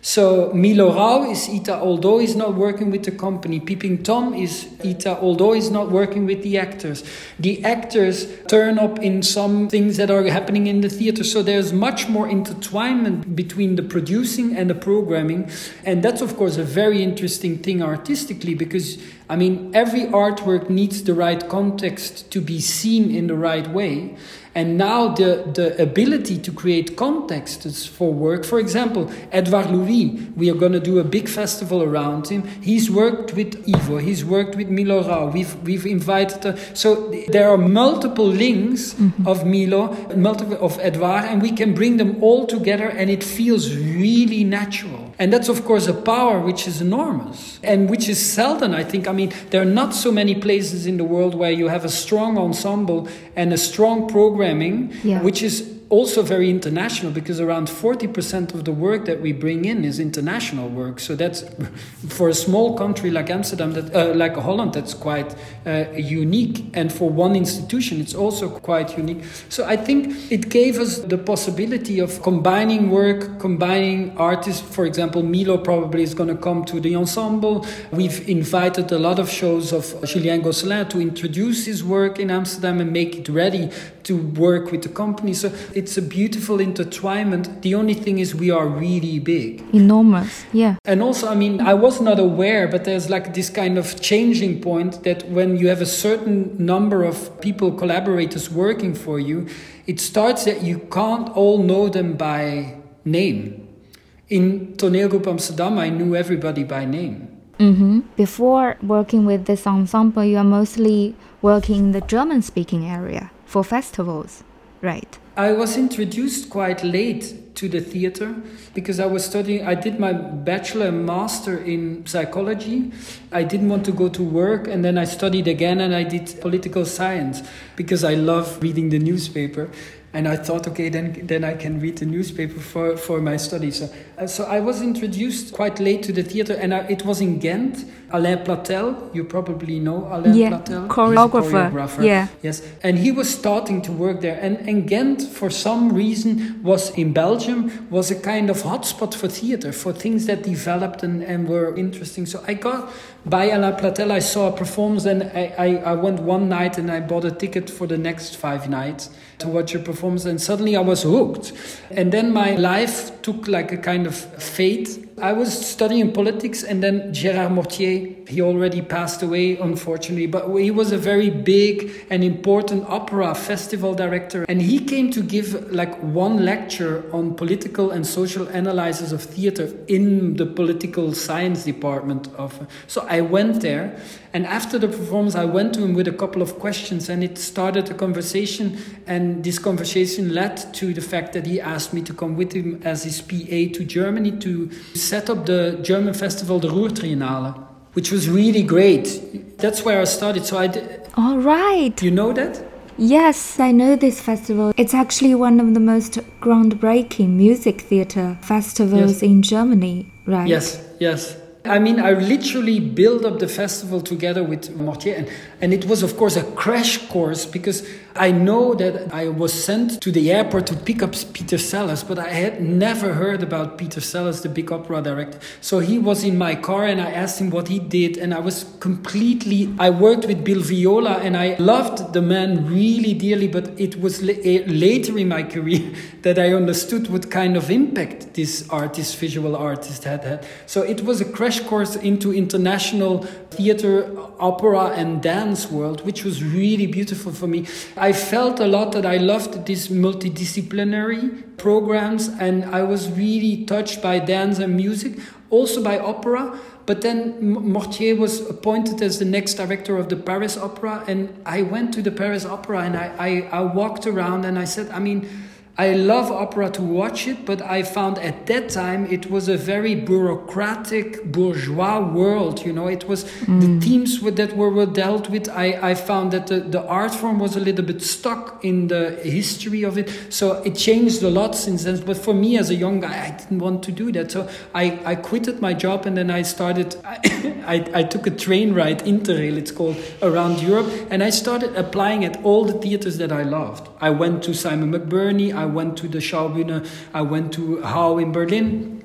So Milo Rau is Ita, although he's not working with the company. Peeping Tom is Ita, although he's not working with the actors. The actors turn up in some things that are happening in the theater. So there's much more intertwinement between the producing and the programming. And that's, of course, a very interesting thing artistically, because, I mean, every artwork needs the right context to be seen in the right way. And now the, the ability to create contexts for work, for example, Edouard Louis, we are going to do a big festival around him. He's worked with Ivo, he's worked with Milo Rau, we've, we've invited, uh, so there are multiple links mm-hmm. of Milo, multiple of Edouard, and we can bring them all together and it feels really natural. And that's, of course, a power which is enormous and which is seldom, I think. I mean, there are not so many places in the world where you have a strong ensemble and a strong programming, yeah. which is also very international, because around forty percent of the work that we bring in is international work. So that's, for a small country like Amsterdam, that uh, like Holland, that's quite uh, unique. And for one institution, it's also quite unique. So I think it gave us the possibility of combining work, combining artists. For example, Milo probably is going to come to the ensemble. We've invited a lot of shows of Julien Gosselin to introduce his work in Amsterdam and make it ready to work with the company. So it's a beautiful intertwinement. The only thing is we are really big. Enormous, yeah. And also, I mean, I was not aware, but there's like this kind of changing point that when you have a certain number of people, collaborators working for you, it starts that you can't all know them by name. In Toneelgroep Amsterdam, I knew everybody by name. Mm-hmm. Before working with this ensemble, you are mostly working in the German-speaking area for festivals, right? I was introduced quite late to the theater because I was studying, I did my bachelor and master in psychology. I didn't want to go to work, and then I studied again and I did political science because I love reading the newspaper. And I thought, okay, then then I can read the newspaper for, for my studies. So, uh, so I was introduced quite late to the theater, and I, it was in Ghent. Alain Platel, you probably know Alain yeah, Platel. Choreographer. choreographer. Yeah. Yes. And he was starting to work there. And, and Ghent, for some reason, was in Belgium, was a kind of hotspot for theater, for things that developed and, and were interesting. So I got, by Alain Platel, I saw a performance, and I, I, I went one night and I bought a ticket for the next five nights to watch a performance, and suddenly I was hooked. And then my life took like a kind of fate. I was studying politics, and then Gérard Mortier, he already passed away, unfortunately, but he was a very big and important opera festival director. And he came to give like one lecture on political and social analysis of theater in the political science department of. So I went there, and after the performance, I went to him with a couple of questions, and it started a conversation. And this conversation led to the fact that he asked me to come with him as his P A to Germany to set up the German festival, the Ruhr-Triennale, which was really great. That's where I started. So I did. All right. You know that? Yes, I know this festival. It's actually one of the most groundbreaking music theater festivals yes. in Germany, right? Yes, yes. I mean, I literally built up the festival together with Mortier, and, and it was, of course, a crash course, because I know that I was sent to the airport to pick up Peter Sellers, but I had never heard about Peter Sellers, the big opera director. So he was in my car, and I asked him what he did, and I was completely... I worked with Bill Viola, and I loved the man really dearly, but it was la- later in my career that I understood what kind of impact this artist, visual artist, had had. So it was a crash course into international theater, opera and dance world, which was really beautiful for me. I felt a lot that I loved these multidisciplinary programs, and I was really touched by dance and music, also by opera. But then Mortier was appointed as the next director of the Paris Opera, and I went to the Paris Opera, and I, I, I walked around and I said, I mean, I love opera to watch it, but I found at that time it was a very bureaucratic, bourgeois world. You know, it was mm. the themes that were, were dealt with. I, I found that the, the art form was a little bit stuck in the history of it. So it changed a lot since then. But for me as a young guy, I didn't want to do that. So I, I quitted my job, and then I started, I, I, I took a train ride, Interrail it's called, around Europe. And I started applying at all the theaters that I loved. I went to Simon McBurney, I went to the Schaubühne, I went to Hau in Berlin.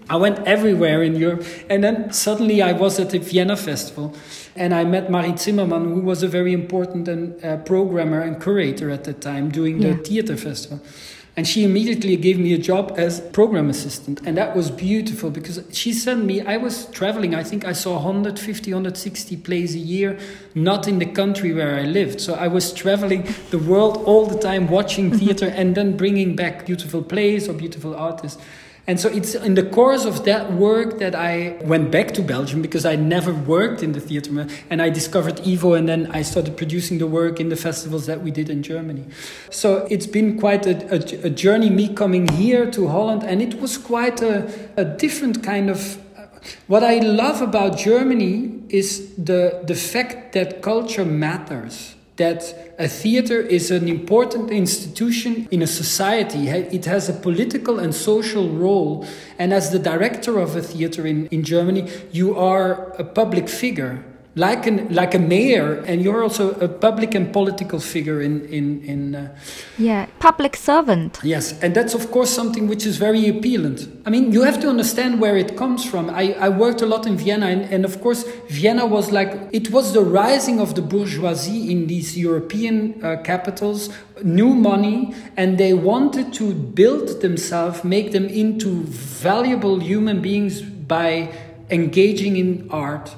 I went everywhere in Europe. And then suddenly I was at the Vienna Festival and I met Marie Zimmermann, who was a very important and, uh, programmer and curator at the time doing the Yeah. theater festival. And she immediately gave me a job as program assistant. And that was beautiful because she sent me, I was traveling, I think I saw one hundred fifty, one hundred sixty plays a year, not in the country where I lived. So I was traveling the world all the time, watching theater and then bringing back beautiful plays or beautiful artists. And so it's in the course of that work that I went back to Belgium because I never worked in the theater. And I discovered Ivo and then I started producing the work in the festivals that we did in Germany. So it's been quite a, a, a journey, me coming here to Holland. And it was quite a, a different kind of... What I love about Germany is the, the fact that culture matters. That a theater is an important institution in a society. It has a political and social role. And as the director of a theater in, in Germany, you are a public figure, like an like a mayor, and you're also a public and political figure in in in. Uh, yeah, public servant. Yes, and that's of course something which is very appealing. I mean, you have to understand where it comes from. I, I worked a lot in Vienna, and, and of course, Vienna was like it was the rising of the bourgeoisie in these European uh, capitals. New money, and they wanted to build themselves, make them into valuable human beings by engaging in art.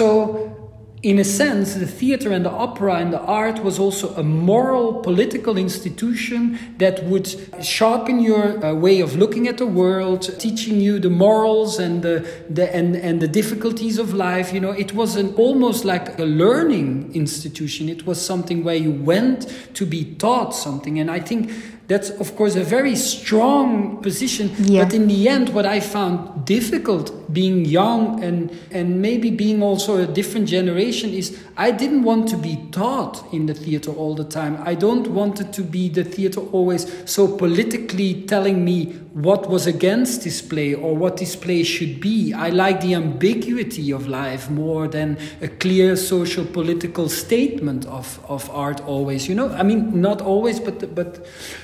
So in a sense, the theater and the opera and the art was also a moral, political institution that would sharpen your uh, way of looking at the world, teaching you the morals and the, the and, and the difficulties of life. You know, it was an almost like a learning institution. It was something where you went to be taught something. And I think that's, of course, a very strong position. Yeah. But in the end, what I found difficult being young and, and maybe being also a different generation is I didn't want to be taught in the theater all the time. I don't want it to be the theater always so politically telling me what was against this play or what this play should be. I like the ambiguity of life more than a clear social political statement of, of art always. You know, I mean, not always, but but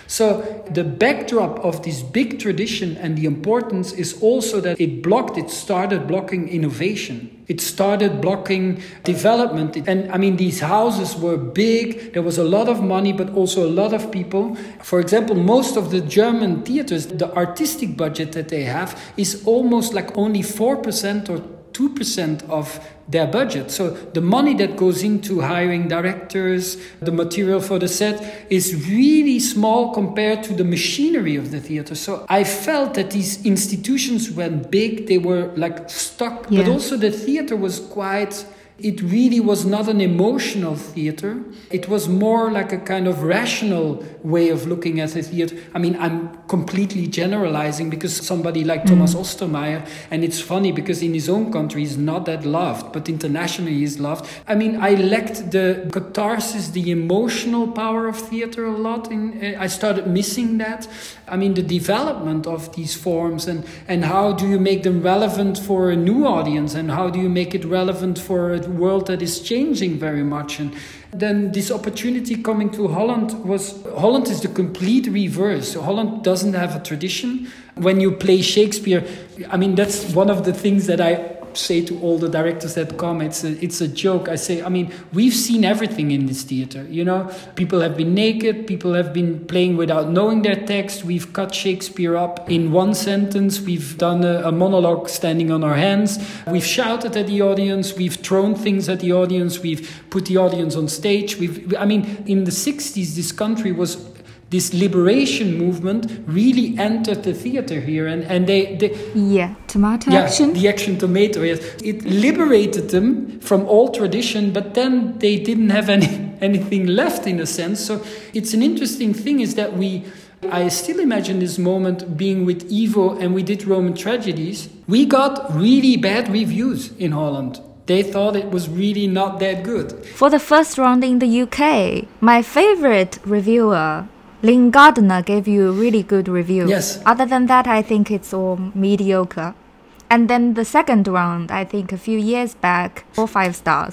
so the backdrop of this big tradition and the importance is also that it blocked, it started blocking innovation. It started blocking development. And I mean, these houses were big. There was a lot of money, but also a lot of people. For example, most of the German theaters, the artistic budget that they have is almost like only four percent or two percent of their budget. So the money that goes into hiring directors, the material for the set is really small compared to the machinery of the theater. So I felt that these institutions went big, they were like stuck, yeah. But also the theater was quite... It really was not an emotional theater. It was more like a kind of rational way of looking at the theater. I mean, I'm completely generalizing because somebody like mm. Thomas Ostermeier, and it's funny because in his own country he's not that loved, but internationally he's loved. I mean, I lacked the catharsis, the emotional power of theater a lot. In, I started missing that. I mean, the development of these forms and, and how do you make them relevant for a new audience and how do you make it relevant for a world that is changing very much. And then this opportunity coming to Holland was... Holland is the complete reverse. Holland doesn't have a tradition. When you play Shakespeare, I mean, that's one of the things that I say to all the directors that come. It's a, it's a joke. I say, I mean, we've seen everything in this theater. You know, people have been naked. People have been playing without knowing their text. We've cut Shakespeare up in one sentence. We've done a, a monologue standing on our hands. We've shouted at the audience. We've thrown things at the audience. We've put the audience on stage. We've, I mean, in the sixties, this country was... This liberation movement really entered the theater here, and, and they, they yeah tomato yeah, action the action tomato yes it liberated them from all tradition, but then they didn't have any anything left in a sense. So it's an interesting thing is that we I still imagine this moment being with Ivo and we did Roman tragedies. We got really bad reviews in Holland. They thought it was really not that good. For the first round in the U K, my favorite reviewer Lynn Gardner gave you a really good review. Yes. Other than that, I think it's all mediocre. And then the second round, I think a few years back, four five stars.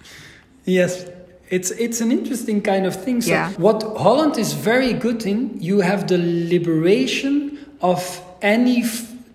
Yes. It's it's an interesting kind of thing. So yeah. What Holland is very good in, you have the liberation of any f-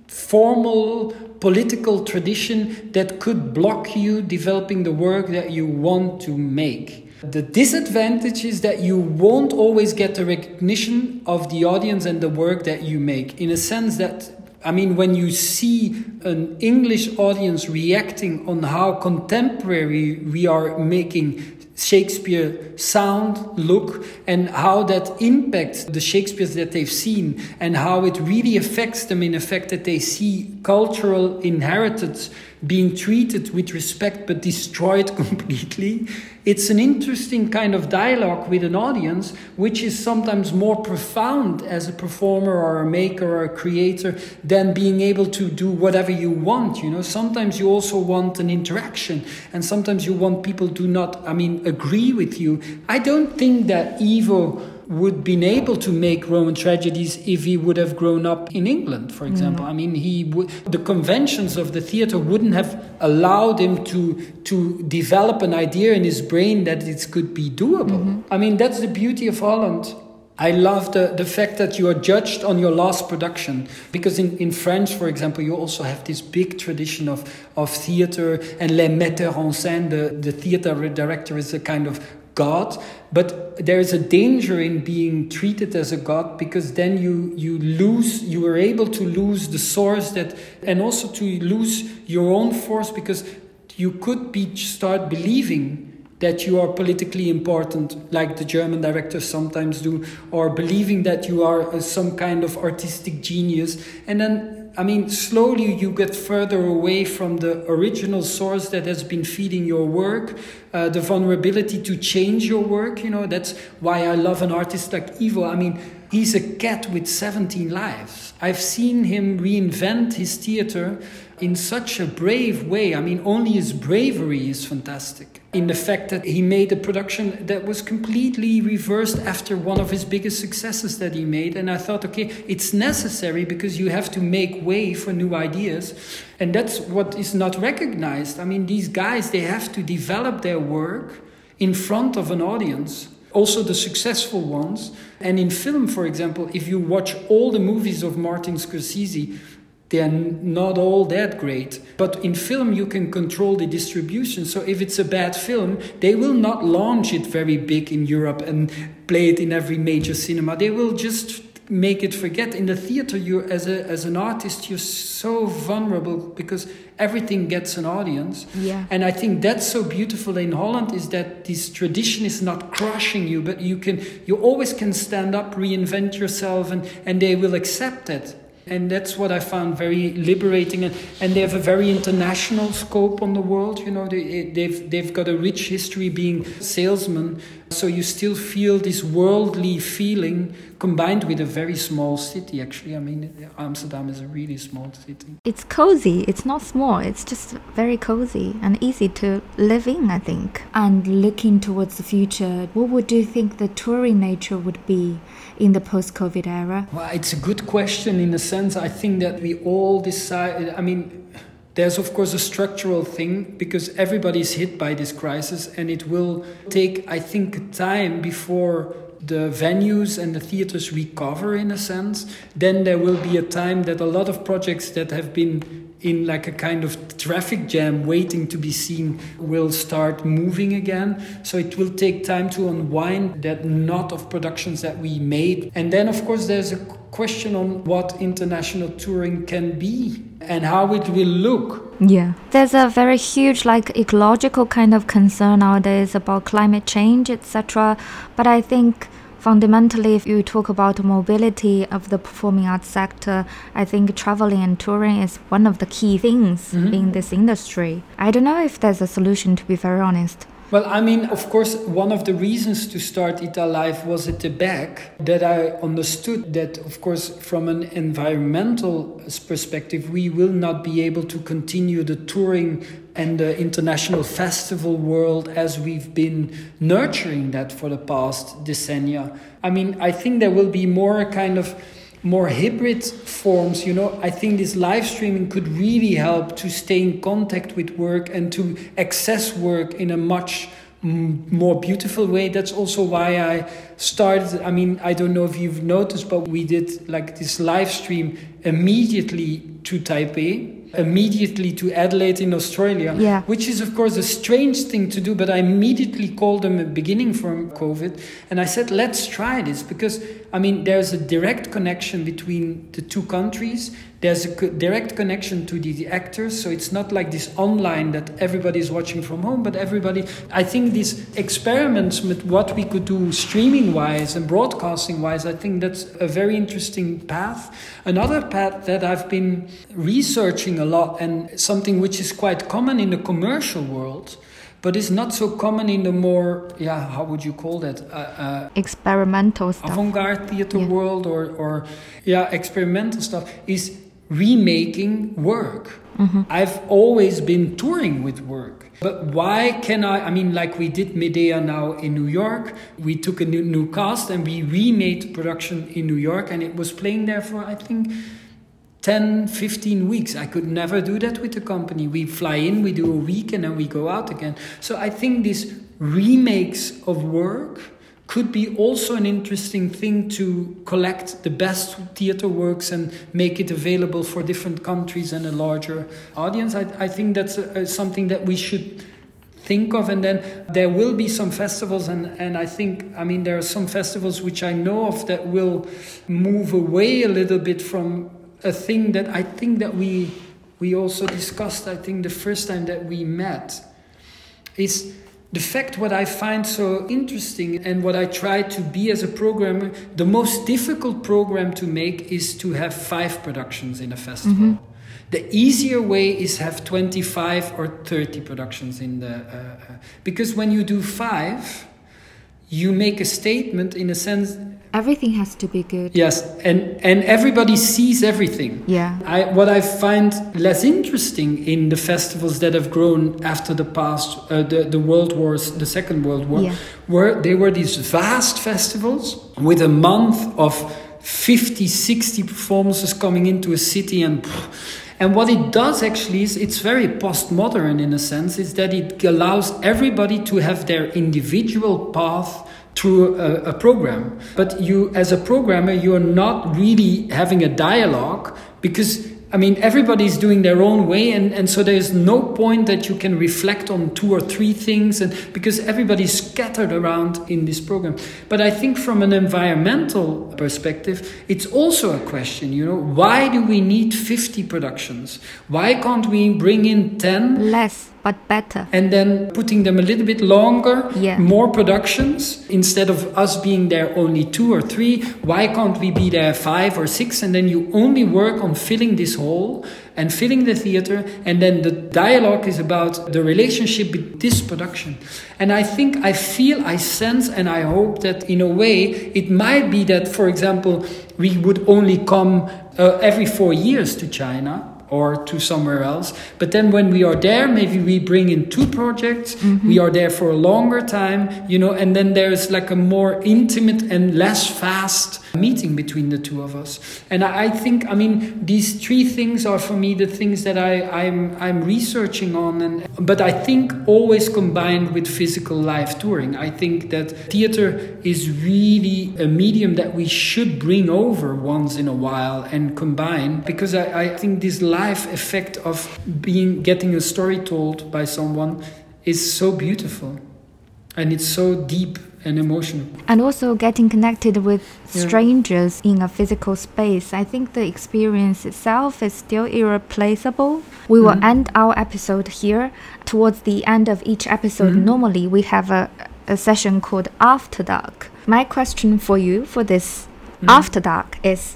formal political tradition that could block you developing the work that you want to make. The disadvantage is that you won't always get the recognition of the audience and the work that you make, in a sense that, I mean, when you see an English audience reacting on how contemporary we are making Shakespeare sound, look, and how that impacts the Shakespeares that they've seen, and how it really affects them in the fact that they see cultural inheritance being treated with respect but destroyed completely. It's an interesting kind of dialogue with an audience, which is sometimes more profound as a performer or a maker or a creator than being able to do whatever you want. You know, sometimes you also want an interaction, and sometimes you want people to not, I mean, agree with you. I don't think that Ivo would been able to make Roman tragedies if he would have grown up in England, for example. Mm. I mean, he would, the conventions of the theater wouldn't have allowed him to to develop an idea in his brain that it could be doable. Mm-hmm. I mean, that's the beauty of Holland. I love the, the fact that you are judged on your last production, because in, in France, for example, you also have this big tradition of, of theater, and les metteurs en scène, the, the theater director is a kind of God, but there is a danger in being treated as a god, because then you you lose, you are able to lose the source that, and also to lose your own force, because you could be start believing that you are politically important, like the German directors sometimes do, or believing that you are some kind of artistic genius, and then, I mean, slowly you get further away from the original source that has been feeding your work, uh, the vulnerability to change your work. You know, that's why I love an artist like Ivo. I mean, he's a cat with seventeen lives. I've seen him reinvent his theater in such a brave way. I mean, only his bravery is fantastic. In the fact that he made a production that was completely reversed after one of his biggest successes that he made. And I thought, okay, it's necessary, because you have to make way for new ideas. And that's what is not recognized. I mean, these guys, they have to develop their work in front of an audience. Also the successful ones. And in film, for example, if you watch all the movies of Martin Scorsese, they are not all that great. But in film, you can control the distribution. So if it's a bad film, they will not launch it very big in Europe and play it in every major cinema. They will just make it forget. In the theater, you as a as an artist, you're so vulnerable, because everything gets an audience. Yeah. And I think that's so beautiful in Holland, is that this tradition is not crushing you, but you can you always can stand up, reinvent yourself, and, and they will accept it. And that's what I found very liberating. And, and they have a very international scope on the world. You know, they, they've, they've got a rich history being salesmen. So you still feel this worldly feeling combined with a very small city, actually. I mean, Amsterdam is a really small city. It's cozy. It's not small. It's just very cozy and easy to live in, I think. And looking towards the future, what would you think the touring nature would be in the post-COVID era? Well, it's a good question in a sense. I think that we all decide, I mean, there's of course a structural thing, because everybody's hit by this crisis, and it will take, I think, time before the venues and the theaters recover in a sense. Then there will be a time that a lot of projects that have been in like a kind of traffic jam waiting to be seen will start moving again. So it will take time to unwind that knot of productions that we made. And then of course there's a question on what international touring can be and how it will look. Yeah. There's a very huge like ecological kind of concern nowadays about climate change, et cetera. But I think fundamentally, if you talk about mobility of the performing arts sector, I think traveling and touring is one of the key things mm-hmm. in this industry. I don't know if there's a solution, to be very honest. Well, I mean, of course, one of the reasons to start Italive was at the back that I understood that, of course, from an environmental perspective, we will not be able to continue the touring and the international festival world as we've been nurturing that for the past decennia. I mean, I think there will be more kind of more hybrid forms, you know. I think this live streaming could really help to stay in contact with work and to access work in a much m- more beautiful way. That's also why I started, I mean, I don't know if you've noticed, but we did like this live stream immediately to Taipei, immediately to Adelaide in Australia, yeah. which is of course a strange thing to do, but I immediately called them at the beginning from COVID and I said, let's try this, because I mean there's a direct connection between the two countries. There's a co- direct connection to the, the actors, so it's not like this online that everybody is watching from home, but everybody, I think these experiments with what we could do streaming wise and broadcasting wise, I think that's a very interesting path. Another path that I've been researching a lot, and something which is quite common in the commercial world, but it's not so common in the more, yeah, how would you call that? Uh, uh, experimental stuff. Avant-garde theater yeah. world, or, or, yeah, experimental stuff, is remaking work. Mm-hmm. I've always been touring with work. But why can I, I mean, like we did Medea now in New York, we took a new, new cast and we remade the production in New York, and it was playing there for, I think, ten, fifteen weeks. I could never do that with the company. We fly in, we do a week, and then we go out again. So I think these remakes of work could be also an interesting thing to collect the best theater works and make it available for different countries and a larger audience. I, I think that's a, a, something that we should think of. And then there will be some festivals, and, and I think, I mean, there are some festivals which I know of that will move away a little bit from a thing that I think that we we also discussed, I think, the first time that we met, is the fact what I find so interesting and what I try to be as a programmer, the most difficult program to make is to have five productions in a festival. Mm-hmm. The easier way is have twenty-five or thirty productions in the... Uh, uh, because when you do five, you make a statement in a sense... Everything has to be good. Yes, and, and everybody sees everything. Yeah. I, what I find less interesting in the festivals that have grown after the past, uh, the, the World Wars, the Second World War, yeah. were they were these vast festivals with a month of fifty, sixty performances coming into a city, and and what it does actually is it's very postmodern in a sense, is that it allows everybody to have their individual path through a, a program. But you, as a programmer, you're not really having a dialogue, because I mean, everybody's doing their own way, and, and so there's no point that you can reflect on two or three things, and because everybody's scattered around in this program. But I think from an environmental perspective, it's also a question, you know, why do we need fifty productions? Why can't we bring in ten? Less, but better. And then putting them a little bit longer, yeah. more productions, instead of us being there only two or three. Why can't we be there five or six? And then you only work on filling this hole and filling the theater, and then the dialogue is about the relationship with this production. And I think, I feel, I sense, and I hope that in a way it might be that, for example, we would only come uh, every four years to China or to somewhere else. But then when we are there, maybe we bring in two projects, mm-hmm. we are there for a longer time, you know, and then there's like a more intimate and less fast meeting between the two of us. And I, I think, I mean, these three things are for me the things that I, I'm I'm researching on, and but I think always combined with physical live touring. I think that theater is really a medium that we should bring over once in a while and combine, because I, I think this live effect of being getting a story told by someone is so beautiful, and it's so deep and emotional. And also getting connected with strangers yeah. in a physical space. I think the experience itself is still irreplaceable. We will mm-hmm. end our episode here. Towards the end of each episode, mm-hmm. normally we have a, a session called After Dark. My question for you for this mm-hmm. After Dark is,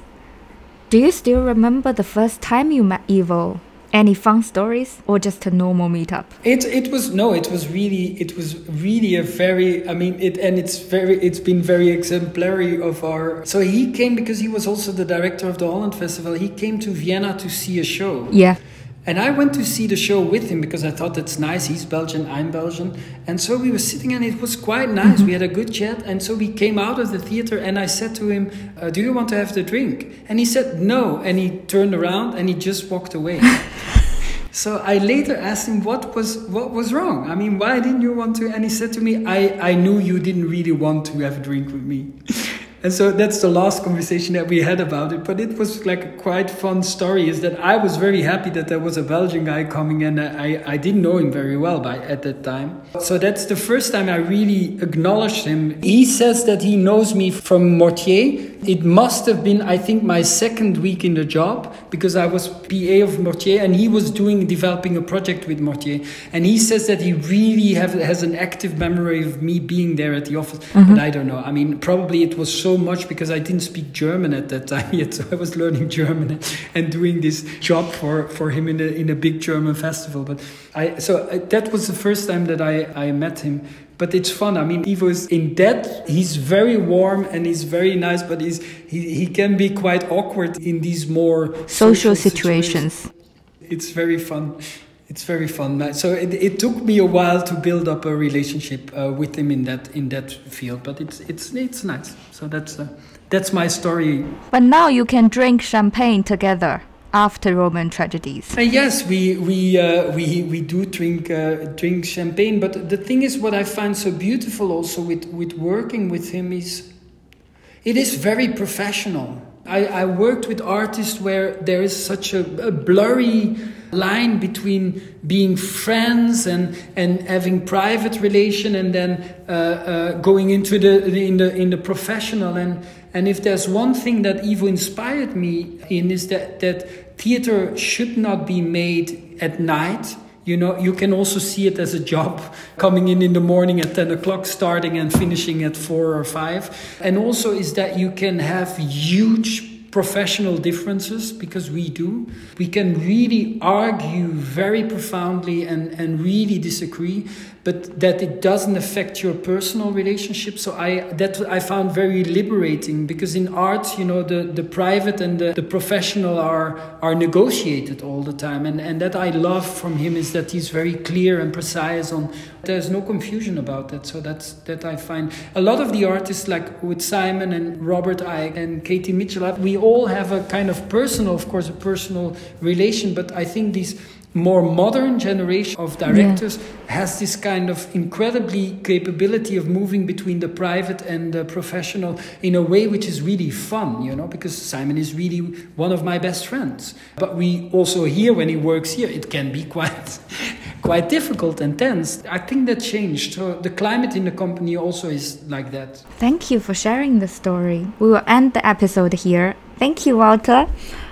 do you still remember the first time you met Ivo? Any fun stories, or just a normal meetup? It it was no, it was really it was really a very I mean it and it's very it's been very exemplary of our. So he came because he was also the director of the Holland Festival. He came to Vienna to see a show. Yeah. And I went to see the show with him because I thought that's nice. He's Belgian, I'm Belgian. And so we were sitting and it was quite nice. Mm-hmm. We had a good chat. And so we came out of the theater and I said to him, uh, do you want to have the drink? And he said no. And he turned around and he just walked away. So I later asked him what was what was wrong. I mean, why didn't you want to? And he said to me, I, I knew you didn't really want to have a drink with me. And so that's the last conversation that we had about it. But it was like a quite fun story, is that I was very happy that there was a Belgian guy coming, and I, I didn't know him very well by at that time. So that's the first time I really acknowledged him. He says that he knows me from Mortier. It must have been, I think, my second week in the job, because I was P A of Mortier and he was doing developing a project with Mortier. And he says that he really have, has an active memory of me being there at the office. Mm-hmm. But I don't know. I mean, probably it was so much because I didn't speak German at that time yet. So I was learning German and doing this job for, for him in a, in a big German festival. But I so that was the first time that I, I met him. But it's fun. I mean, Ivo is in that, he's very warm and he's very nice, but he's, he, he can be quite awkward in these more social, social situations. situations. It's very fun. It's very fun. So it, it took me a while to build up a relationship uh, with him in that in that field, but it's it's it's nice. So that's uh, that's my story. But now you can drink champagne together after Roman tragedies. Uh, yes, we we uh, we we do drink uh, drink champagne. But the thing is, what I find so beautiful also with with working with him is, it is very professional. I, I worked with artists where there is such a, a blurry line between being friends and, and having private relation, and then uh, uh, going into the in the in the professional. And and if there's one thing that Ivo inspired me in, is that that theater should not be made at night. You know, you can also see it as a job, coming in in the morning at ten o'clock, starting and finishing at four or five. And also is that you can have huge professional differences, because we do. We can really argue very profoundly and, and really disagree, but that it doesn't affect your personal relationship. So I that I found very liberating, because in art, you know, the, the private and the, the professional are are negotiated all the time. And, and that I love from him is that he's very clear and precise on, there's no confusion about that. So that's that I find. A lot of the artists, like with Simon and Robert Icke and Katie Mitchell, we all have a kind of personal, of course, a personal relation, but I think these more modern generation of directors yeah. has this kind of incredibly capability of moving between the private and the professional in a way which is really fun, you know, because Simon is really one of my best friends. But we also hear when he works here, it can be quite quite difficult and tense. I think that changed. So the climate in the company also is like that. Thank you for sharing the story. We will end the episode here. Thank you, Walter.